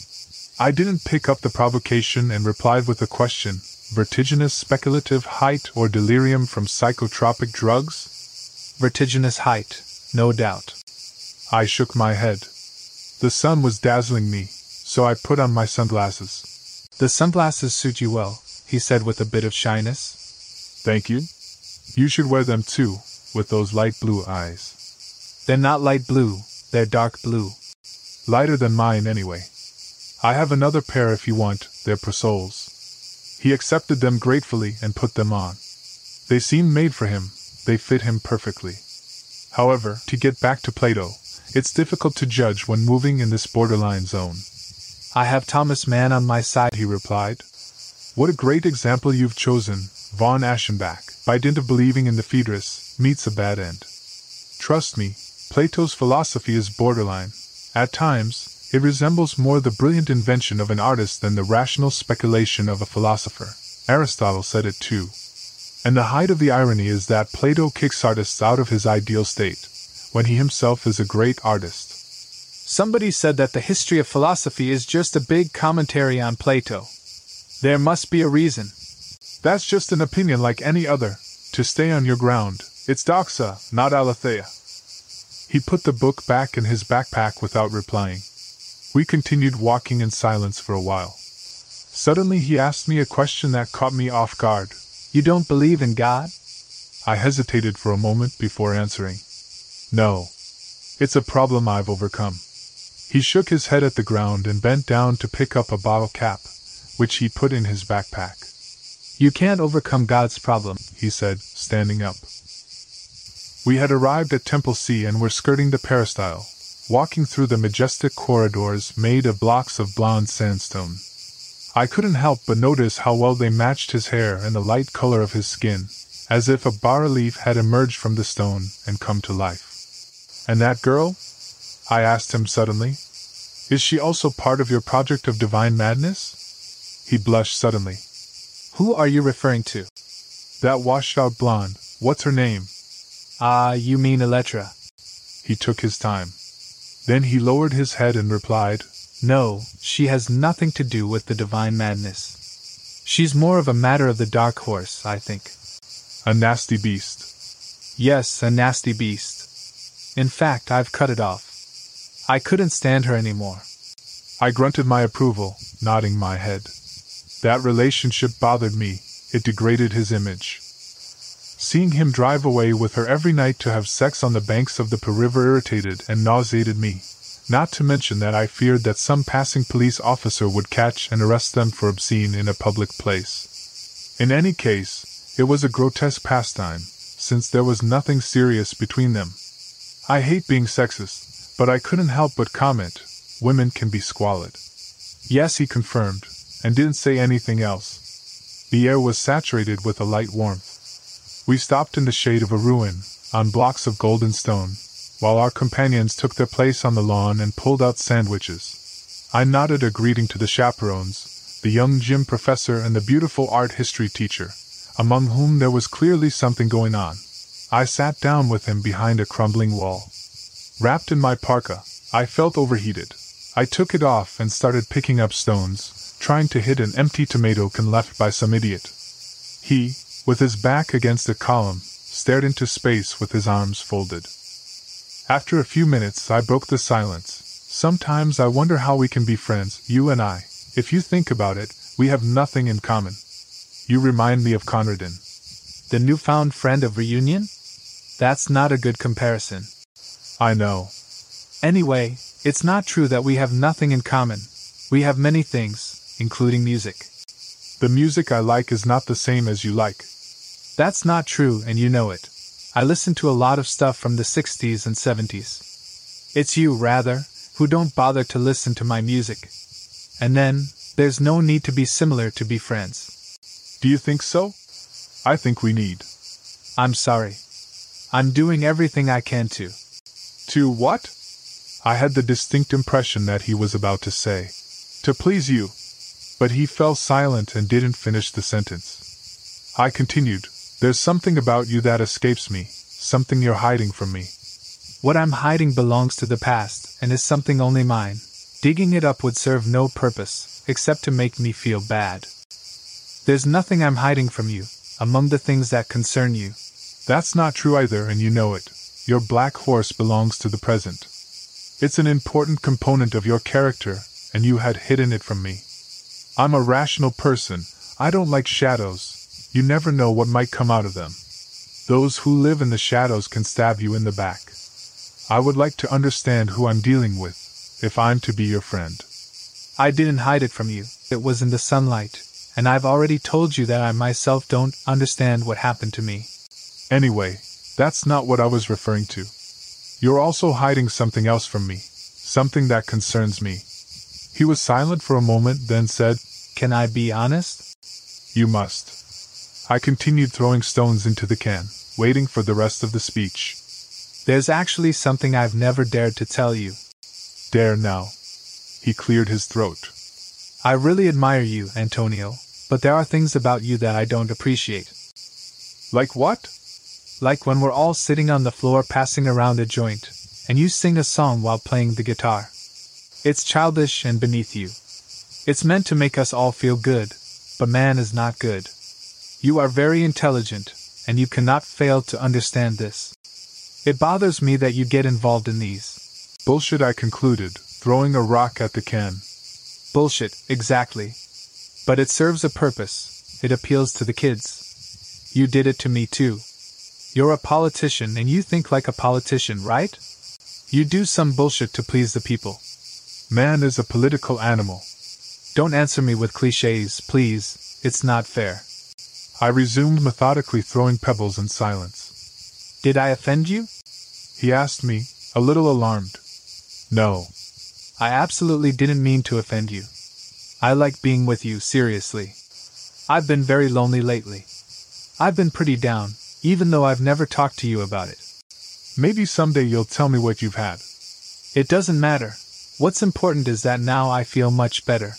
I didn't pick up the provocation and replied with a question. Vertiginous speculative height or delirium from psychotropic drugs? Vertiginous height, no doubt. I shook my head. The sun was dazzling me, so I put on my sunglasses. The sunglasses suit you well, he said with a bit of shyness. Thank you. You should wear them too, with those light blue eyes. They're not light blue, they're dark blue. Lighter than mine anyway. I have another pair if you want, they're Parasols. He accepted them gratefully and put them on. They seemed made for him, they fit him perfectly. However, to get back to Plato, it's difficult to judge when moving in this borderline zone. I have Thomas Mann on my side, he replied. What a great example you've chosen, von Aschenbach, by dint of believing in the Phaedrus, meets a bad end. Trust me, Plato's philosophy is borderline. At times, it resembles more the brilliant invention of an artist than the rational speculation of a philosopher. Aristotle said it too. And the height of the irony is that Plato kicks artists out of his ideal state, when he himself is a great artist. Somebody said that the history of philosophy is just a big commentary on Plato. There must be a reason. That's just an opinion like any other. To stay on your ground, it's doxa, not aletheia. He put the book back in his backpack without replying. We continued walking in silence for a while. Suddenly he asked me a question that caught me off guard. You don't believe in God? I hesitated for a moment before answering. No. It's a problem I've overcome. He shook his head at the ground and bent down to pick up a bottle cap, which he put in his backpack. You can't overcome God's problem, he said, standing up. We had arrived at Temple C and were skirting the peristyle, walking through the majestic corridors made of blocks of blonde sandstone. I couldn't help but notice how well they matched his hair and the light color of his skin, as if a bas-relief had emerged from the stone and come to life. And that girl? I asked him suddenly. Is she also part of your project of divine madness? He blushed suddenly. Who are you referring to? That washed-out blonde. What's her name? Ah, uh, you mean Elettra. He took his time. Then he lowered his head and replied, No, she has nothing to do with the divine madness. She's more of a matter of the dark horse, I think. A nasty beast. Yes, a nasty beast. In fact, I've cut it off. I couldn't stand her anymore. I grunted my approval, nodding my head. That relationship bothered me. It degraded his image. Seeing him drive away with her every night to have sex on the banks of the Po River irritated and nauseated me, not to mention that I feared that some passing police officer would catch and arrest them for obscene in a public place. In any case, it was a grotesque pastime, since there was nothing serious between them. I hate being sexist, but I couldn't help but comment, women can be squalid. Yes, he confirmed, and didn't say anything else. The air was saturated with a light warmth. We stopped in the shade of a ruin, on blocks of golden stone, while our companions took their place on the lawn and pulled out sandwiches. I nodded a greeting to the chaperones, the young gym professor and the beautiful art history teacher, among whom there was clearly something going on. I sat down with him behind a crumbling wall. Wrapped in my parka, I felt overheated. I took it off and started picking up stones, trying to hit an empty tomato can left by some idiot. He, with his back against a column, stared into space with his arms folded. After a few minutes I broke the silence. Sometimes I wonder how we can be friends, you and I. If you think about it, we have nothing in common. You remind me of Conradin. The newfound friend of reunion? That's not a good comparison. I know. Anyway, It's not true that we have nothing in common. We have many things, including music. The music I like is not the same as you like. That's not true, and you know it. I listen to a lot of stuff from the sixties and seventies. It's you, rather, who don't bother to listen to my music. And then, there's no need to be similar to be friends. Do you think so? I think we need. I'm sorry. I'm doing everything I can to. To what? I had the distinct impression that he was about to say, to please you. But he fell silent and didn't finish the sentence. I continued, there's something about you that escapes me, something you're hiding from me. What I'm hiding belongs to the past, and is something only mine. Digging it up would serve no purpose, except to make me feel bad. There's nothing I'm hiding from you, among the things that concern you. That's not true either, and you know it. Your black horse belongs to the present. It's an important component of your character, and you had hidden it from me. I'm a rational person. I don't like shadows. You never know what might come out of them. Those who live in the shadows can stab you in the back. I would like to understand who I'm dealing with, if I'm to be your friend. I didn't hide it from you. It was in the sunlight, and I've already told you that I myself don't understand what happened to me. Anyway, that's not what I was referring to. You're also hiding something else from me, something that concerns me. He was silent for a moment, then said, Can I be honest? You must. I continued throwing stones into the can, waiting for the rest of the speech. There's actually something I've never dared to tell you. Dare now. He cleared his throat. I really admire you, Antonio, but there are things about you that I don't appreciate. Like what? Like when we're all sitting on the floor passing around a joint, and you sing a song while playing the guitar. It's childish and beneath you. It's meant to make us all feel good, but man is not good. You are very intelligent, and you cannot fail to understand this. It bothers me that you get involved in these. Bullshit, I concluded, throwing a rock at the can. Bullshit, exactly. But it serves a purpose. It appeals to the kids. You did it to me too. You're a politician and you think like a politician, right? You do some bullshit to please the people. Man is a political animal. Don't answer me with cliches, please. It's not fair. I resumed methodically, throwing pebbles in silence. Did I offend you? He asked me, a little alarmed. No. I absolutely didn't mean to offend you. I like being with you, seriously. I've been very lonely lately. I've been pretty down, even though I've never talked to you about it. Maybe someday you'll tell me what you've had. It doesn't matter. What's important is that now I feel much better.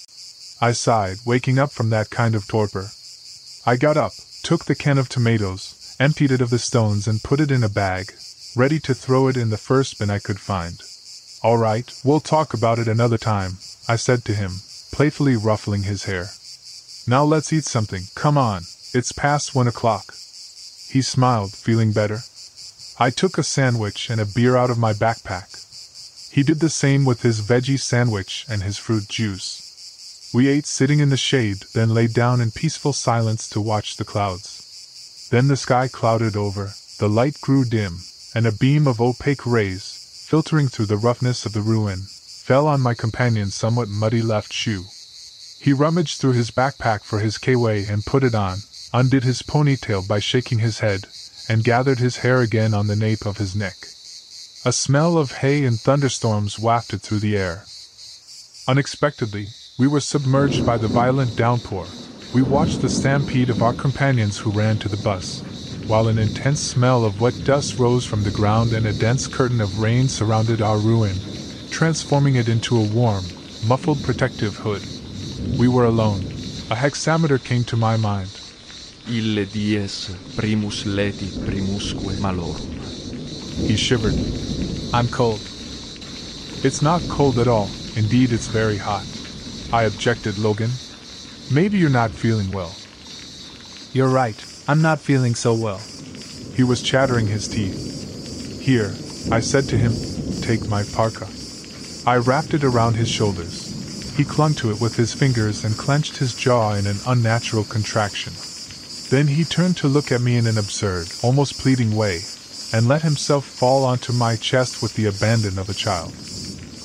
I sighed, waking up from that kind of torpor. I got up, took the can of tomatoes, emptied it of the stones and put it in a bag, ready to throw it in the first bin I could find. All right, we'll talk about it another time, I said to him, playfully ruffling his hair. Now let's eat something, come on, it's past one o'clock. He smiled, feeling better. I took a sandwich and a beer out of my backpack. He did the same with his veggie sandwich and his fruit juice. We ate sitting in the shade, then lay down in peaceful silence to watch the clouds. Then the sky clouded over, the light grew dim, and a beam of opaque rays, filtering through the roughness of the ruin, fell on my companion's somewhat muddy left shoe. He rummaged through his backpack for his K-way and put it on, undid his ponytail by shaking his head, and gathered his hair again on the nape of his neck. A smell of hay and thunderstorms wafted through the air. Unexpectedly, we were submerged by the violent downpour. We watched the stampede of our companions who ran to the bus, while an intense smell of wet dust rose from the ground and a dense curtain of rain surrounded our ruin, transforming it into a warm, muffled protective hood. We were alone. A hexameter came to my mind. Ille dies primus leti primusque malorum. He shivered. I'm cold. It's not cold at all. Indeed, it's very hot. I objected, Logan. Maybe you're not feeling well. You're right. I'm not feeling so well. He was chattering his teeth. Here, I said to him, take my parka. I wrapped it around his shoulders. He clung to it with his fingers and clenched his jaw in an unnatural contraction. Then he turned to look at me in an absurd, almost pleading way, and let himself fall onto my chest with the abandon of a child.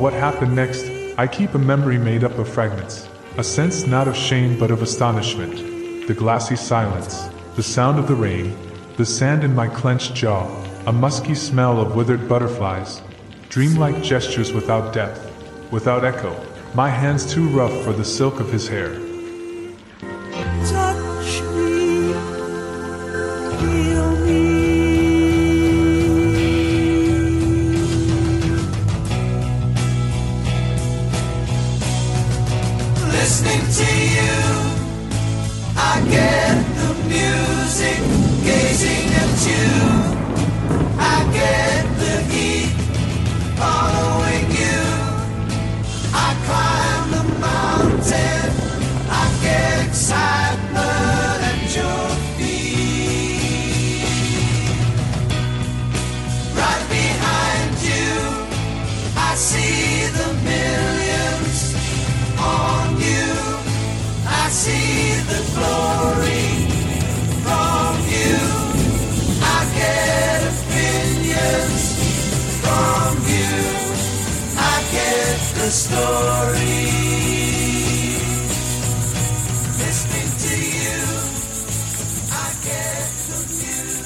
what happened next, I keep a memory made up of fragments. A sense not of shame but of astonishment. The glassy silence, the sound of the rain, the sand in my clenched jaw, a musky smell of withered butterflies, dreamlike gestures without depth, without echo, my hands too rough for the silk of his hair. Touch me, feel me. Listening to you, I get the music, gazing at you. I get the heat, following you. I climb the mountain, I get excitement at your feet. Right behind you, I see the millions on you. I see the glory from you. I get opinions from you. I get the story. Listening to you, I get the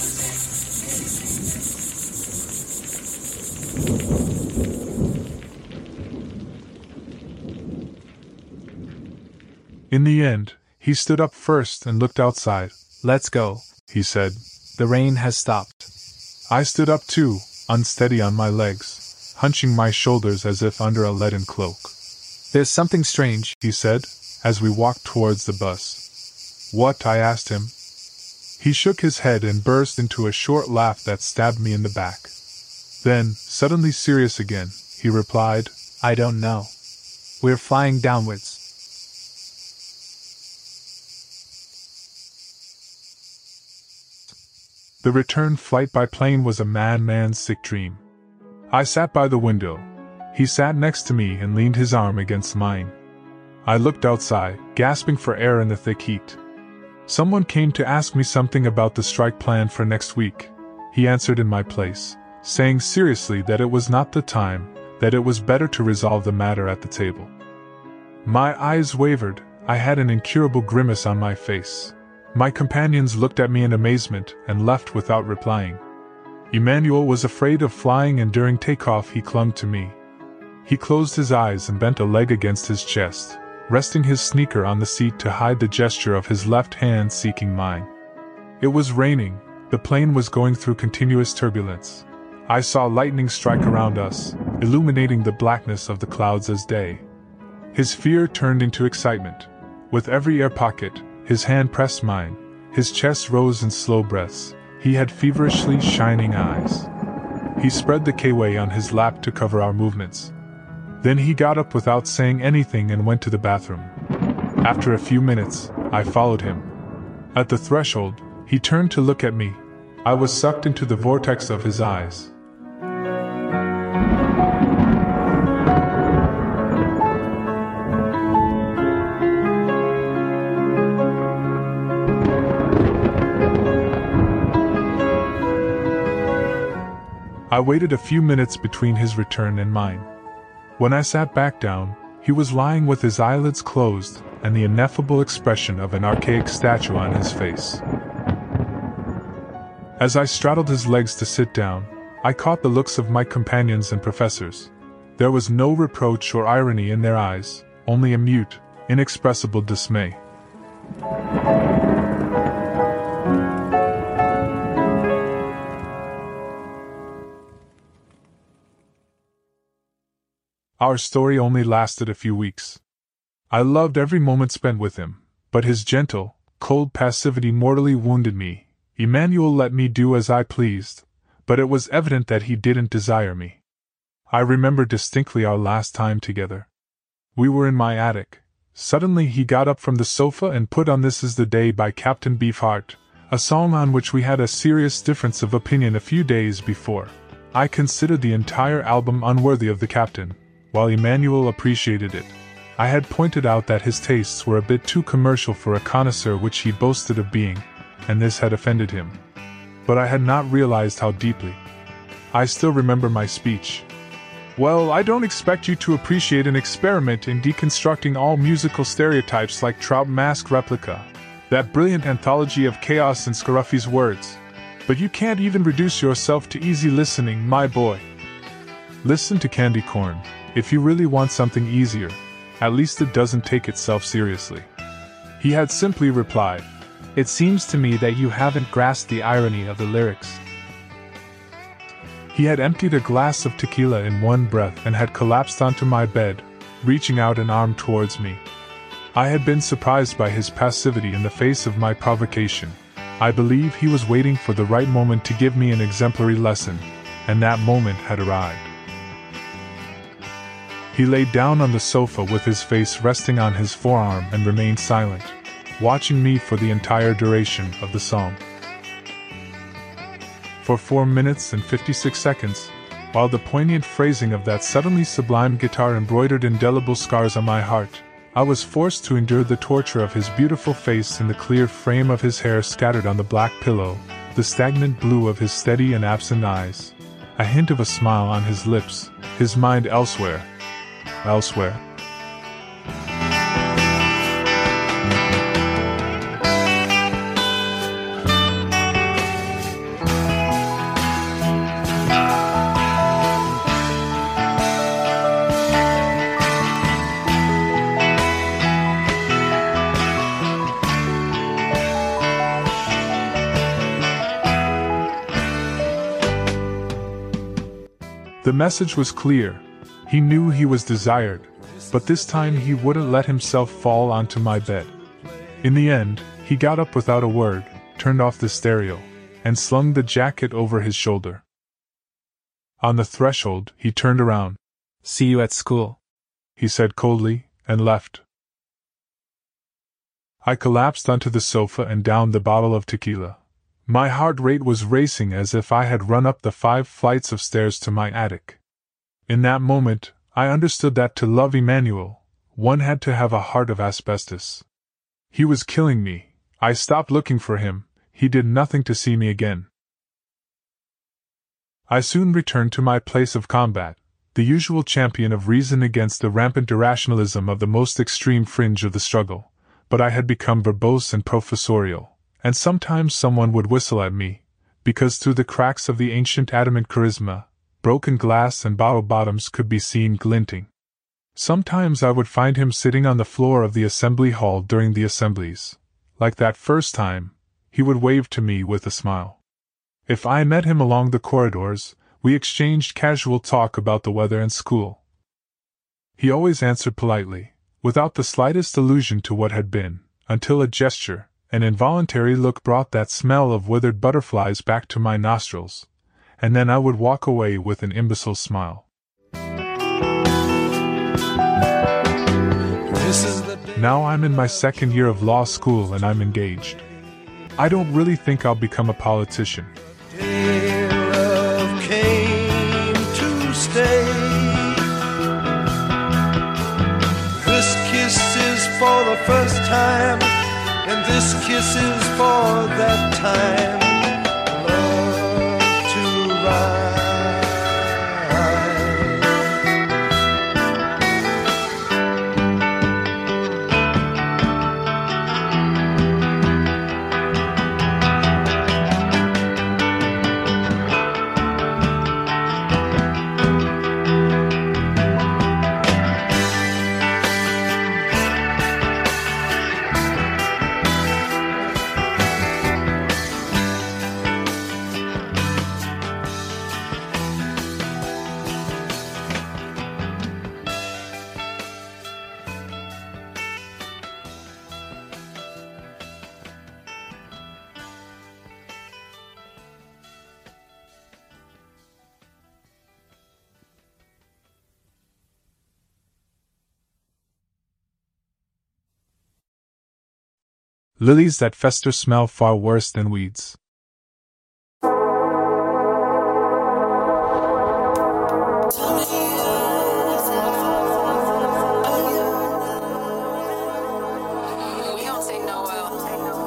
In the end, he stood up first and looked outside. Let's go, he said. The rain has stopped. I stood up too, unsteady on my legs, hunching my shoulders as if under a leaden cloak. There's something strange, he said, as we walked towards the bus. What? I asked him. He shook his head and burst into a short laugh that stabbed me in the back. Then, suddenly serious again, he replied, I don't know. We're flying downwards. The return flight by plane was a madman's sick dream. I sat by the window. He sat next to me and leaned his arm against mine. I looked outside, gasping for air in the thick heat. Someone came to ask me something about the strike plan for next week. He answered in my place, saying seriously that it was not the time, that it was better to resolve the matter at the table. My eyes wavered. I had an incurable grimace on my face. My companions looked at me in amazement and left without replying. Emmanuel was afraid of flying, and during takeoff he clung to me. He closed his eyes and bent a leg against his chest, resting his sneaker on the seat to hide the gesture of his left hand seeking mine. It was raining. The plane was going through continuous turbulence. I saw lightning strike around us, illuminating the blackness of the clouds as day. His fear turned into excitement. With every air pocket, his hand pressed mine, his chest rose in slow breaths, he had feverishly shining eyes. He spread the K-way on his lap to cover our movements. Then he got up without saying anything and went to the bathroom. After a few minutes, I followed him. At the threshold, he turned to look at me. I was sucked into the vortex of his eyes. I waited a few minutes between his return and mine. When I sat back down, he was lying with his eyelids closed and the ineffable expression of an archaic statue on his face. As I straddled his legs to sit down, I caught the looks of my companions and professors. There was no reproach or irony in their eyes, only a mute, inexpressible dismay. Our story only lasted a few weeks. I loved every moment spent with him, but his gentle, cold passivity mortally wounded me. Emmanuel let me do as I pleased, but it was evident that he didn't desire me. I remember distinctly our last time together. We were in my attic. Suddenly he got up from the sofa and put on This Is the Day by Captain Beefheart, a song on which we had a serious difference of opinion a few days before. I considered the entire album unworthy of the captain, while Emmanuel appreciated it. I had pointed out that his tastes were a bit too commercial for a connoisseur which he boasted of being, and this had offended him. But I had not realized how deeply. I still remember my speech. Well, I don't expect you to appreciate an experiment in deconstructing all musical stereotypes like Trout Mask Replica, that brilliant anthology of chaos in Scruffy's words. But you can't even reduce yourself to easy listening, my boy. Listen to Candy Corn, if you really want something easier. At least it doesn't take itself seriously. He had simply replied, "It seems to me that you haven't grasped the irony of the lyrics." He had emptied a glass of tequila in one breath and had collapsed onto my bed, reaching out an arm towards me. I had been surprised by his passivity in the face of my provocation. I believe he was waiting for the right moment to give me an exemplary lesson, and that moment had arrived. He lay down on the sofa with his face resting on his forearm and remained silent, watching me for the entire duration of the song. For four minutes and fifty-six seconds, while the poignant phrasing of that suddenly sublime guitar embroidered indelible scars on my heart, I was forced to endure the torture of his beautiful face in the clear frame of his hair scattered on the black pillow, the stagnant blue of his steady and absent eyes, a hint of a smile on his lips, his mind elsewhere. Elsewhere. The message was clear. He knew he was desired, but this time he wouldn't let himself fall onto my bed. In the end, he got up without a word, turned off the stereo, and slung the jacket over his shoulder. On the threshold, he turned around. "See you at school," he said coldly, and left. I collapsed onto the sofa and downed the bottle of tequila. My heart rate was racing as if I had run up the five flights of stairs to my attic. In that moment, I understood that to love Emmanuel, one had to have a heart of asbestos. He was killing me. I stopped looking for him. He did nothing to see me again. I soon returned to my place of combat, the usual champion of reason against the rampant irrationalism of the most extreme fringe of the struggle, but I had become verbose and professorial. And sometimes someone would whistle at me, because through the cracks of the ancient adamant charisma, broken glass and bottle bottoms could be seen glinting. Sometimes I would find him sitting on the floor of the assembly hall during the assemblies. Like that first time, he would wave to me with a smile. If I met him along the corridors, we exchanged casual talk about the weather and school. He always answered politely, without the slightest allusion to what had been, until a gesture, an involuntary look brought that smell of withered butterflies back to my nostrils, and then I would walk away with an imbecile smile. Now I'm in my second year of law school and I'm engaged. I don't really think I'll become a politician. Day love came to stay. This kiss is for the first time, and this kiss is for that time, love to ride. Lilies that fester smell far worse than weeds.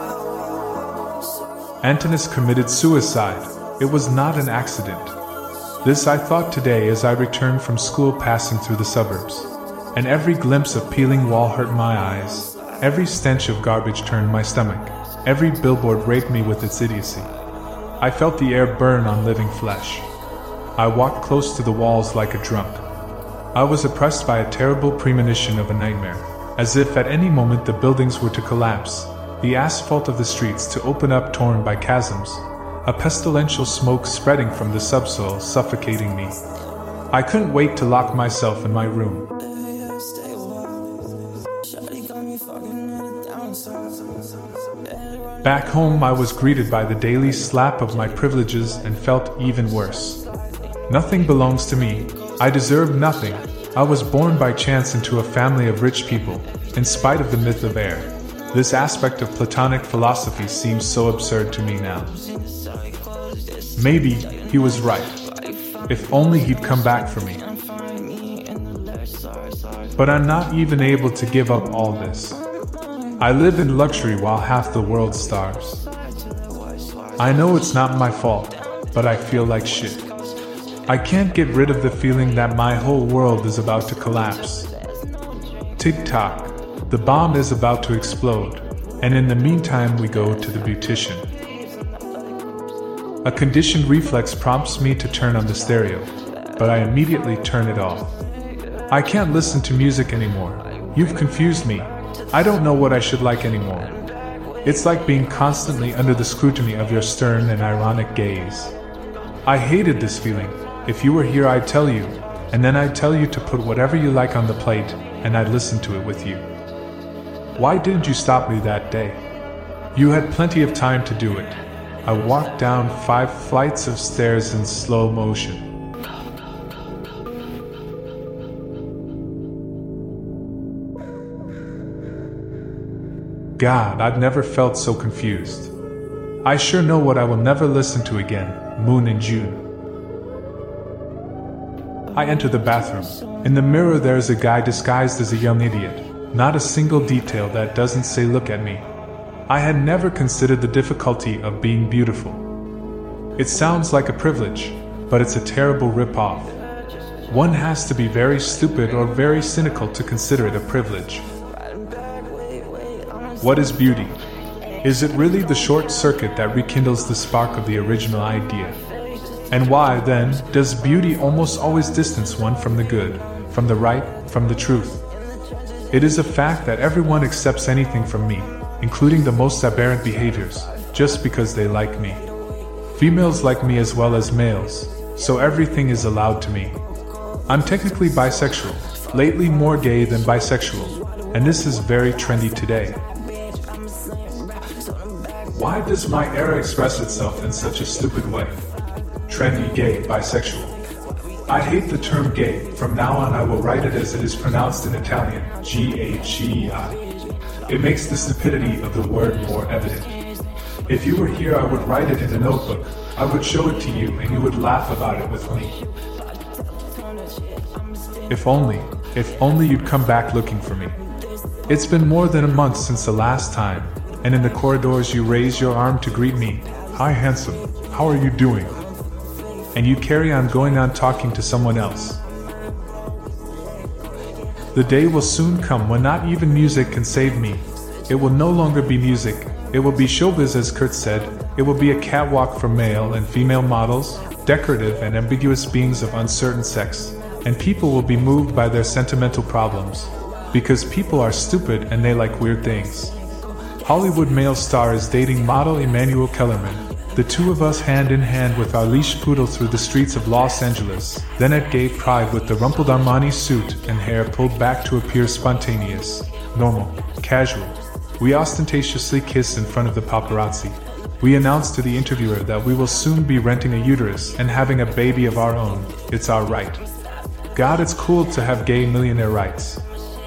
Antinous committed suicide. It was not an accident. This I thought today as I returned from school passing through the suburbs. And every glimpse of peeling wall hurt my eyes. Every stench of garbage turned my stomach. Every billboard raped me with its idiocy. I felt the air burn on living flesh. I walked close to the walls like a drunk. I was oppressed by a terrible premonition of a nightmare, as if at any moment the buildings were to collapse, the asphalt of the streets to open up torn by chasms, a pestilential smoke spreading from the subsoil suffocating me. I couldn't wait to lock myself in my room. Back home I was greeted by the daily slap of my privileges and felt even worse. Nothing belongs to me. I deserve nothing. I was born by chance into a family of rich people, in spite of the myth of heir. This aspect of Platonic philosophy seems so absurd to me now. Maybe he was right. If only he'd come back for me. But I'm not even able to give up all this. I live in luxury while half the world starves. I know it's not my fault, but I feel like shit. I can't get rid of the feeling that my whole world is about to collapse. Tick-tock, the bomb is about to explode, and in the meantime we go to the beautician. A conditioned reflex prompts me to turn on the stereo, but I immediately turn it off. I can't listen to music anymore. You've confused me. I don't know what I should like anymore. It's like being constantly under the scrutiny of your stern and ironic gaze. I hated this feeling. If you were here I'd tell you, and then I'd tell you to put whatever you like on the plate, and I'd listen to it with you. Why didn't you stop me that day? You had plenty of time to do it. I walked down five flights of stairs in slow motion. God, I've never felt so confused. I sure know what I will never listen to again, Moon in June. I enter the bathroom. In the mirror there is a guy disguised as a young idiot. Not a single detail that doesn't say look at me. I had never considered the difficulty of being beautiful. It sounds like a privilege, but it's a terrible rip-off. One has to be very stupid or very cynical to consider it a privilege. What is beauty? Is it really the short circuit that rekindles the spark of the original idea? And why, then, does beauty almost always distance one from the good, from the right, from the truth? It is a fact that everyone accepts anything from me, including the most aberrant behaviors, just because they like me. Females like me as well as males, so everything is allowed to me. I'm technically bisexual, lately more gay than bisexual, and this is very trendy today. Why does my era express itself in such a stupid way? Trendy, gay, bisexual. I hate the term gay. From now on I will write it as it is pronounced in Italian, G H E I. It makes the stupidity of the word more evident. If you were here I would write it in a notebook, I would show it to you and you would laugh about it with me. If only, if only you'd come back looking for me. It's been more than a month since the last time, and in the corridors you raise your arm to greet me. Hi handsome, how are you doing? And you carry on going on talking to someone else. The day will soon come when not even music can save me. It will no longer be music, it will be showbiz as Kurt said, it will be a catwalk for male and female models, decorative and ambiguous beings of uncertain sex, and people will be moved by their sentimental problems, because people are stupid and they like weird things. Hollywood male star is dating model Emmanuel Kellerman. The two of us hand in hand with our leash poodle through the streets of Los Angeles, then at gay pride with the rumpled Armani suit and hair pulled back to appear spontaneous, normal, casual. We ostentatiously kiss in front of the paparazzi. We announce to the interviewer that we will soon be renting a uterus and having a baby of our own. It's our right. God, it's cool to have gay millionaire rights.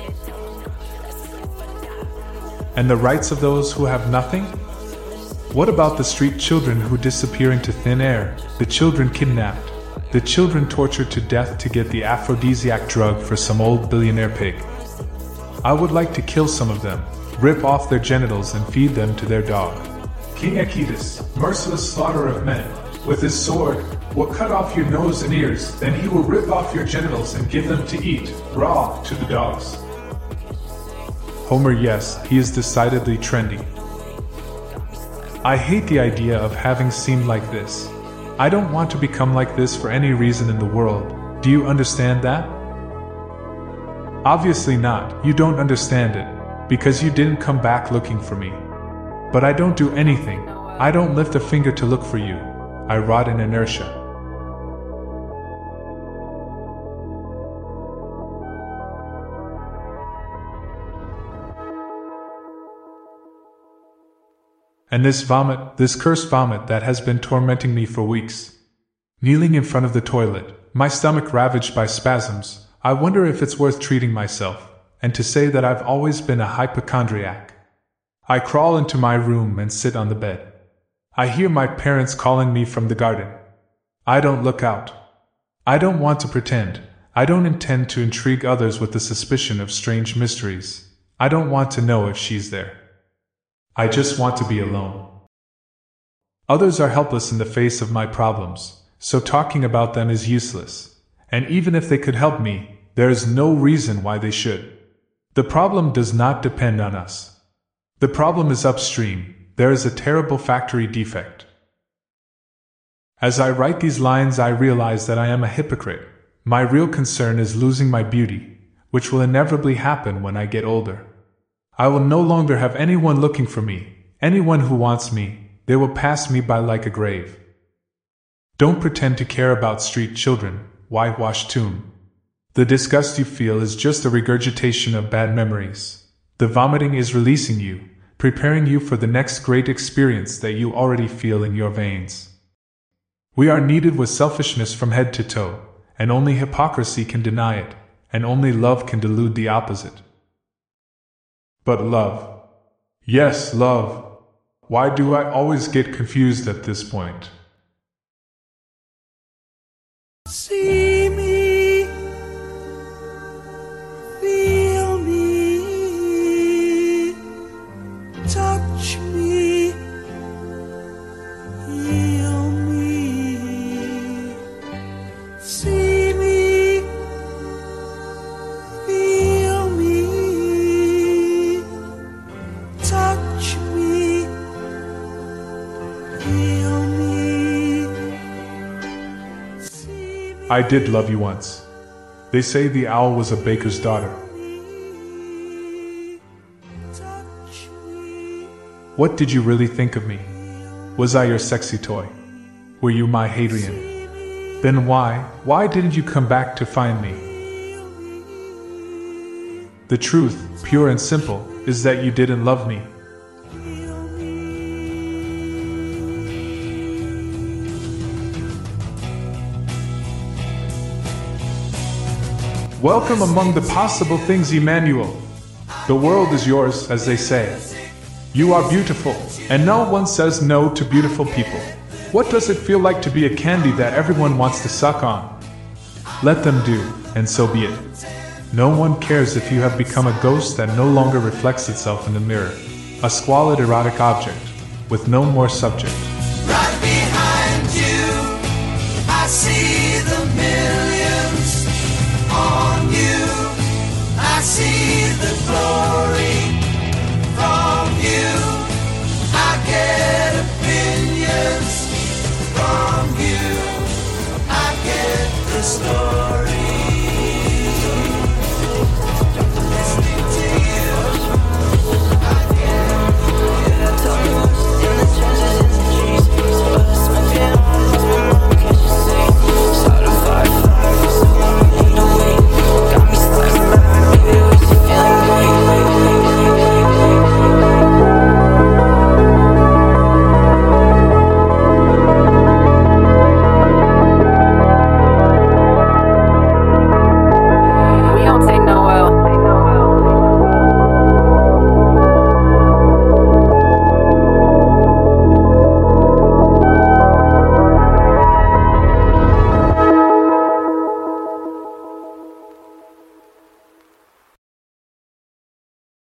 And the rights of those who have nothing? What about the street children who disappear into thin air, the children kidnapped, the children tortured to death to get the aphrodisiac drug for some old billionaire pig? I would like to kill some of them, rip off their genitals and feed them to their dog. King Aeacus, merciless slaughterer of men, with his sword, will cut off your nose and ears, then he will rip off your genitals and give them to eat, raw, to the dogs. Homer, yes, he is decidedly trendy. I hate the idea of having seemed like this. I don't want to become like this for any reason in the world. Do you understand that? Obviously not, you don't understand it, because you didn't come back looking for me. But I don't do anything, I don't lift a finger to look for you. I rot in inertia. And this vomit, this cursed vomit that has been tormenting me for weeks. Kneeling in front of the toilet, my stomach ravaged by spasms, I wonder if it's worth treating myself, and to say that I've always been a hypochondriac. I crawl into my room and sit on the bed. I hear my parents calling me from the garden. I don't look out. I don't want to pretend. I don't intend to intrigue others with the suspicion of strange mysteries. I don't want to know if she's there. I just want to be alone. Others are helpless in the face of my problems, so talking about them is useless. And even if they could help me, there is no reason why they should. The problem does not depend on us. The problem is upstream. There is a terrible factory defect. As I write these lines, I realize that I am a hypocrite. My real concern is losing my beauty, which will inevitably happen when I get older. I will no longer have anyone looking for me, anyone who wants me. They will pass me by like a grave. Don't pretend to care about street children, whitewashed tomb. The disgust you feel is just a regurgitation of bad memories. The vomiting is releasing you, preparing you for the next great experience that you already feel in your veins. We are kneaded with selfishness from head to toe, and only hypocrisy can deny it, and only love can delude the opposite. But love. Yes, love. Why do I always get confused at this point? See me, feel me, touch me, heal me. See me, feel me, touch me, heal me. I did love you once. They say the owl was a baker's daughter. What did you really think of me? Was I your sexy toy? Were you my Hadrian? Then why, why didn't you come back to find me? The truth, pure and simple, is that you didn't love me. Welcome among the possible things, Emmanuel. The world is yours, as they say. You are beautiful, and no one says no to beautiful people. What does it feel like to be a candy that everyone wants to suck on? Let them do, and so be it. No one cares if you have become a ghost that no longer reflects itself in the mirror, a squalid erotic object, with no more subject. Right behind you, I see the millions on you. I see the glory